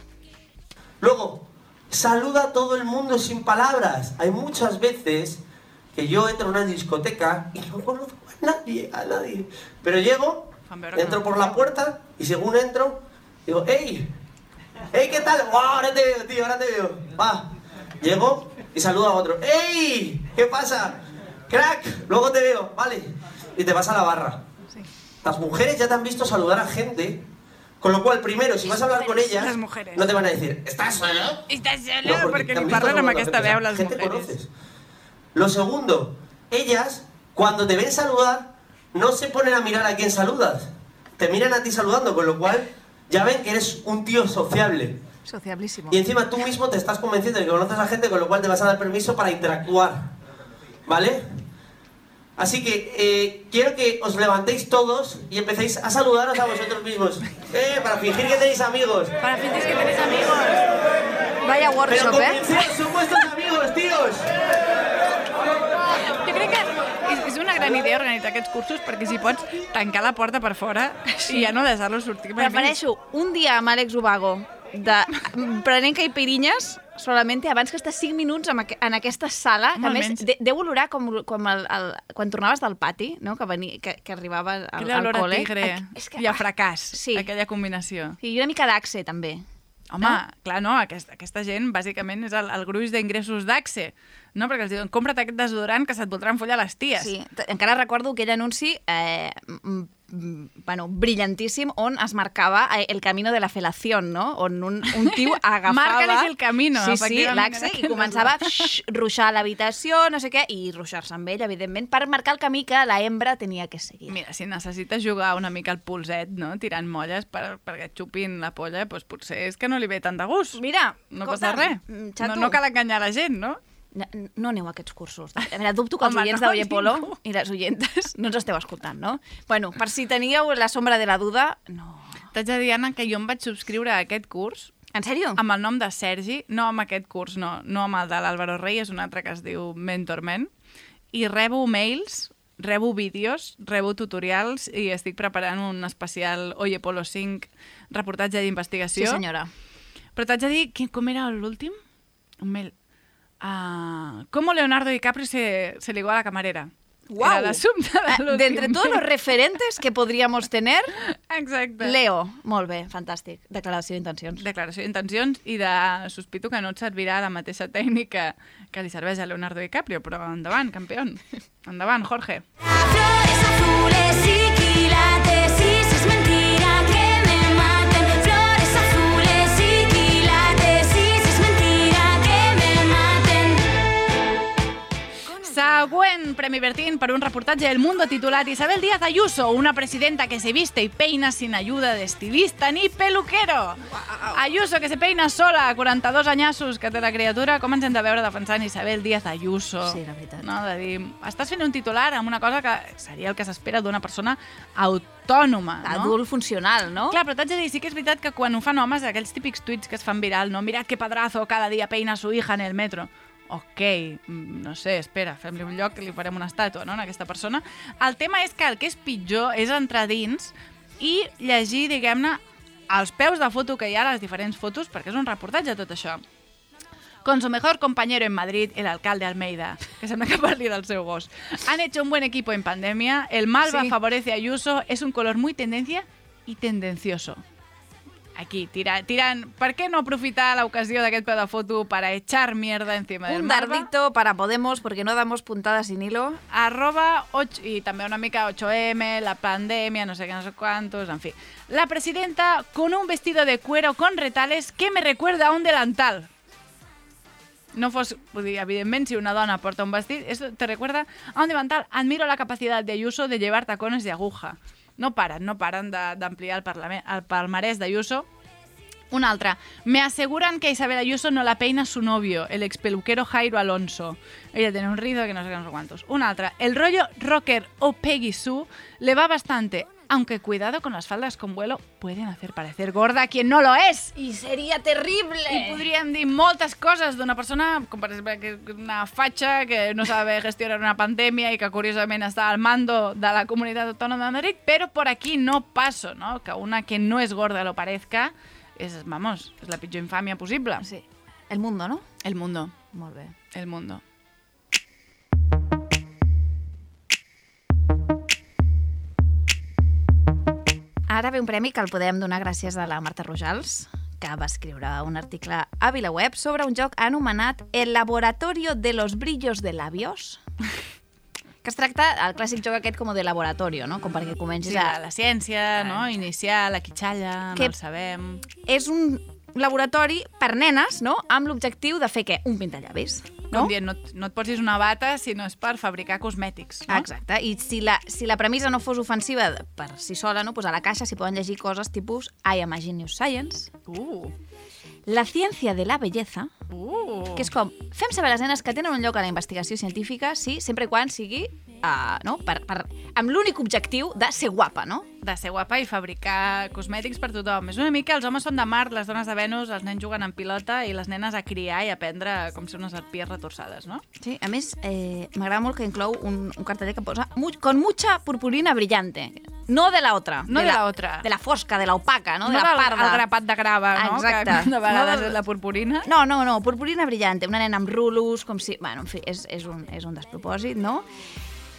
Luego, saluda a todo el mundo sin palabras. Hay muchas veces que yo entro a una discoteca y no conozco a nadie. Pero llego, entro por la puerta y según entro, digo, ¡Ey! ¡Ey, qué tal! ¡Wow! Ahora te veo, tío, ahora te veo. Va. Llego y saludo a otro. ¡Ey! ¿Qué pasa? ¡Crack! Luego te veo, vale. Y te vas a la barra. Sí. Las mujeres ya te han visto saludar a gente. Con lo cual, primero, si vas a hablar con ellas, no te van a decir, ¿estás solo? ¿Estás solo? No, porque ni parlen amb aquesta veu les mujeres. Conoces. Lo segundo, ellas, cuando te ven saludar, no se ponen a mirar a quién saludas. Te miran a ti saludando, con lo cual ya ven que eres un tío sociable. Sociablísimo. Y encima tú mismo te estás convenciendo de que conoces a gente, con lo cual te vas a dar permiso para interactuar. ¿Vale? Así que quiero que os levantéis todos y empecéis a saludaros a vosotros mismos. Para fingir que tenéis amigos. Para fingir que tenéis amigos. Vaya workshop, Pero son vuestros amigos, tíos. Jo crec que és una gran idea organitzar aquests cursos perquè si pots tancar la porta per fora i ja no deixar-los sortir. Prefereixo un dia amb Àlex Ubago prenent caipirinhas solament abans que estar 5 minuts en aquesta sala, que a més deu olorar com quan tornaves del pati, no? Que arribava al col·le. Aquella olor a tigre i a fracàs, aquella combinació. I una mica d'axe, també. Home, clar, no, aquesta gent bàsicament és el gruix d'ingressos d'Axe, no? Perquè els diuen, compra't aquest desodorant que se't voldran follar les ties. Sí, encara recordo aquell anunci brillantíssim on es marcava el camino de la felación, no? On un tio agafava... Márcales el camino, sí, l'Axe, i començava a ruixar l'habitació, no sé què, i ruixar-se amb ell, evidentment, per marcar el camí que la hembra tenia que seguir. Mira, si necessites jugar una mica al pulset, no? Tirant molles perquè et xupin la polla, doncs potser és que no li ve tant de gust. Mira, no passa res. No cal enganyar la gent, no? No aneu a aquests cursos. A veure, dubto que els oients d'Oye Polo i les oientes no ens esteu escoltant, no? Bueno, per si teníeu la sombra de la duda, no. T'haig de dir, Anna, que jo em vaig subscriure a aquest curs. En sèrio? Amb el nom de Sergi, no amb aquest curs, no amb el de l'Álvaro Rey, és un altre que es diu Mentorment, i rebo mails, rebo vídeos, rebo tutorials i estic preparant un especial Oye Polo 5 reportatge d'investigació. Sí, senyora. Però t'haig de dir, com era l'últim? Un mail... ¿Cómo Leonardo DiCaprio se ligó a la camarera? ¡Wow! Era l'assumpte de l'últim. De entre todos los referentes que podríamos tener, exacte. Leo. Molt bé, fantàstic. Declaració d'intencions. Declaració d'intencions i sospito que no et servirà la mateixa tècnica que li serveix a Leonardo DiCaprio, però endavant, campión. Endavant, Jorge. Flores azules y quilates, y si es mentira que me maten. Flores azules y quilates, y si es mentira que me maten. Següent Premi Bertín per un reportatge del Mundo titulat Isabel Díaz Ayuso, una presidenta que se viste y peina sin ayuda de estilista ni peluquero. Wow. Ayuso, que se peina sola, 42 anyassos que té la criatura. Com ens hem de veure defensant Isabel Díaz Ayuso? Sí, la veritat. No, de dir, estàs fent un titular amb una cosa que seria el que s'espera d'una persona autònoma, no? Adult funcional, no? Clar, però t'haig de dir, sí que és veritat que quan ho fan homes, aquells típics tuits que es fan viral, no? Mirad que padrazo, cada dia peina su hija en el metro. Ok, no sé, espera, fem-li un lloc, li farem una estàtua, no?, a aquesta persona. El tema és que el que és pitjor és entrar dins i llegir, diguem-ne, als peus de foto que hi ha, les diferents fotos, perquè és un reportatge tot això. Con su mejor compañero en Madrid, el alcalde Almeida, que sembla que parli del seu gos. Han hecho un buen equipo en pandemia, el Malva favorece a Ayuso, es un color muy tendencia y tendencioso. Aquí, tirant. ¿Por qué no aprofitar la ocasión d'aquest peu de foto para echar mierda encima del Malva? Un dardito para Podemos, porque no damos puntadas sin hilo. @8, y també una mica 8M, la pandemia, no sé qué, no sé cuántos, en fi. La presidenta con un vestido de cuero con retales que me recuerda a un delantal. No fos, vull dir, evidentment, si una dona porta un vestit, eso te recuerda a un delantal. Admiro la capacidad de Ayuso de llevar tacones de aguja. No paren d'ampliar el palmarès d'Ayuso. Un altre. Me aseguran que Isabel Ayuso no la peina su novio, el expeluquero Jairo Alonso. Ella tiene un rizo que no sé qué, no sé cuántos. Un altre. El rollo rocker o Peggy Sue le va bastante, aunque cuidado con las faldas con vuelo, pueden hacer parecer gorda a quien no lo es. I seria terrible. I podríem dir moltes coses d'una persona, com per exemple una fatxa que no sabe gestionar una pandèmia i que curiosament està al mando de la Comunitat Autònoma de Madrid, però por aquí no paso, ¿no? Que una que no es gorda lo parezca és, vamos, és la pitjor infàmia possible. Sí. El Mundo, no? El Mundo. Molt bé. El Mundo. Ara ve un premi que el podem donar gràcies a la Marta Rojals, que va escriure un article a VilaWeb sobre un joc anomenat El Laboratorio de los Brillos de Labios, que es tracta el clàssic joc aquest com de laboratorio, no? Com perquè comencis a... La ciència, no? Iniciar, la quitxalla, no el sabem... És un laboratori per nenes, no? Amb l'objectiu de fer què? Un pintallavis. No? Com dient, no et posis una bata si no és per fabricar cosmètics. No? Exacte, i si la premissa no fos ofensiva per si sola, no? Pues a la caixa s'hi poden llegir coses tipus I am a genius science, la ciència de la bellesa, que és com, fem saber a les nenes que tenen un lloc a la investigació científica, sí, sempre i quan sigui no? Amb l'únic objectiu de ser guapa, no? De ser guapa i fabricar cosmètics per tothom. És una mica, els homes són de Mart, les dones de Venus, els nens juguen en pilota i les nenes a criar i aprendre com ser unes arpies retorçades, no? Sí, a més, m'agrada molt que inclou un carteller que posa con mucha purpurina brillante. No de la otra. No de la otra. De la fosca, de la opaca, no? De no la parda. El grapat de grava, no? Exacte. Que de vegades és la purpurina. No, purpurina brillante. Una nena amb rulos, com si... Bueno, en fi, és un despropòsit, no?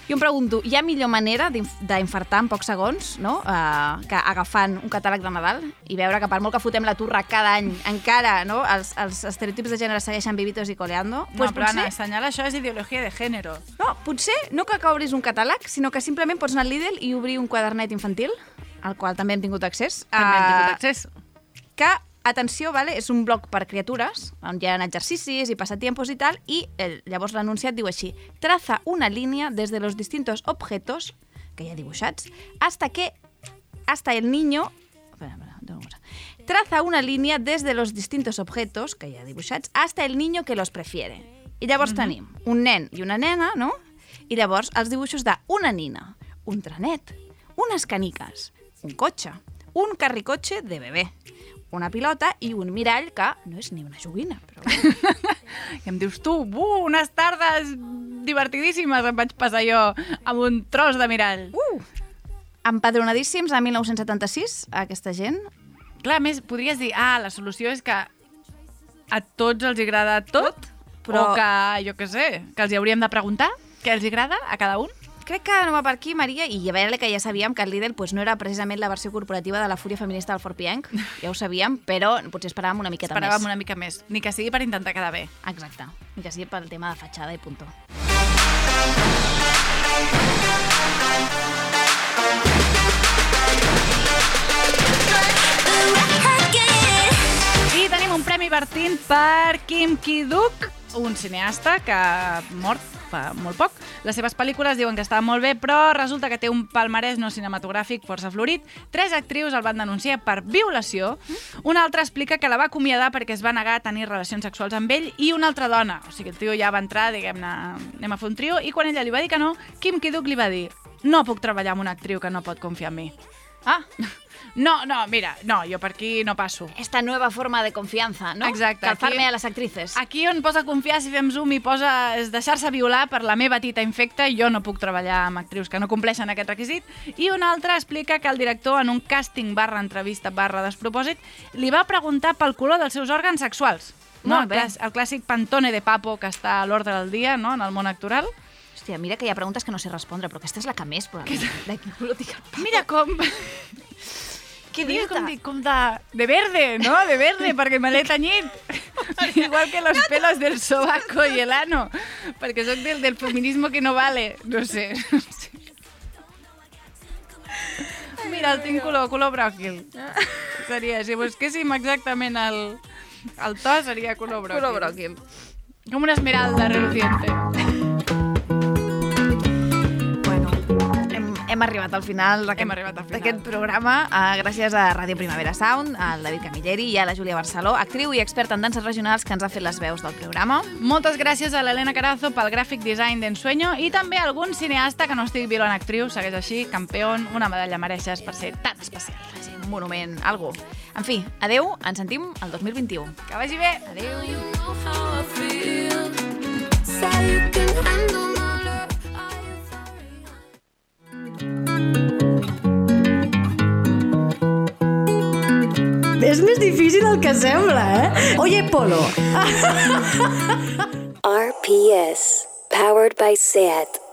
Jo em pregunto, hi ha millor manera d'infartar en pocs segons, no? Que agafant un catàleg de Nadal i veure que per molt que fotem la turra cada any, encara, no? Els estereotips de gènere segueixen vivitos i coleando. No, però Anna, assenyalar això és ideologia de gènere. No, potser no que obris un catàleg, sinó que simplement pots anar al Lidl i obrir un quadernet infantil, al qual també hem tingut accés. Que, atenció, vale, és un blog per criatures, on hi ha exercicis i passatiempos i tal, i llavors l'anunciat diu així: traza una línia desde los distintos objetos, que hi ha dibuixats, hasta el niño... Traza una línia desde los distintos objetos, que hi ha dibuixats, hasta el niño que los prefiere. I llavors tenim un nen i una nena, no? I llavors els dibuixos d'una nina, un trenet, unes caniques, un cotxe, un carricotxe de bebè, una pilota i un mirall que no és ni una joguina. Però... I em dius tu, unes tardes divertidíssimes em vaig passar jo amb un tros de mirall. Empadronadíssims a 1976, aquesta gent. Clar, a més, podries dir, la solució és que a tots els agrada tot, però... o que, jo què sé, que els hi hauríem de preguntar què els agrada a cada un. Crec que no va per aquí, Maria, i a veure que ja sabíem que el Lidl no era precisament la versió corporativa de la fúria feminista del Fort Pienc, ja ho sabíem, però potser esperàvem una miqueta més. Esperàvem una mica més, ni que sigui per intentar quedar bé. Exacte, ni que sigui pel tema de fatxada i puntó. I tenim un premi Bertín per Kim Ki-duk, un cineasta que ha mort fa molt poc. Les seves pel·lícules diuen que estaven molt bé, però resulta que té un palmarès no cinematogràfic força florit. 3 actrius el van denunciar per violació. Una altra explica que la va acomiadar perquè es va negar a tenir relacions sexuals amb ell, i una altra dona. O sigui, el tio ja va entrar, diguem-ne, anem a fer un trio, i quan ella li va dir que no, Kim Ki-duk li va dir: no puc treballar amb una actriu que no pot confiar en mi. No, mira, jo per aquí no passo. Esta nueva forma de confianza, ¿no? Exacte. Calzarme a les actrices. Aquí on posa confiar, si fem zoom, i posa és deixar-se violar per la meva tita infecta, jo no puc treballar amb actrius que no compleixen aquest requisit. I una altra explica que el director, en un càsting / despropòsit, li va preguntar pel color dels seus òrgans sexuals. No, el clàssic Pantone de Papo que està a l'ordre del dia, no?, en el món actoral. Hòstia, mira que hi ha preguntes que no sé respondre, però aquesta és la que més, probablement. De quin color tinc el Papo? Mira com... Què dius? Com de verde, ¿no? De verde, perquè me l'he tenyit. Igual que los pelos del sobaco y el ano. Perquè soc del feminismo que no vale. No sé. Mira, el tinc color bròquil. Seria, si busquéssim exactament el to, seria color bròquil. Color bròquil. Com una esmeralda reluciente. Hem arribat al final d'aquest programa, gràcies a Ràdio Primavera Sound, al David Camilleri i a la Júlia Barceló, actriu i experta en danses regionals, que ens ha fet les veus del programa. Moltes gràcies a l'Helena Carazo pel gràfic design d'Ensueño, i també a algun cineasta que no estigui violant actriu, segueix així, campeón, una medalla mereixes per ser tan especial. Un monument, algo. En fi, adeu, ens sentim el 2021. Que vagi bé. Adeu. És més difícil del que sembla, eh? Oye, Polo. RPS, powered by SEAT.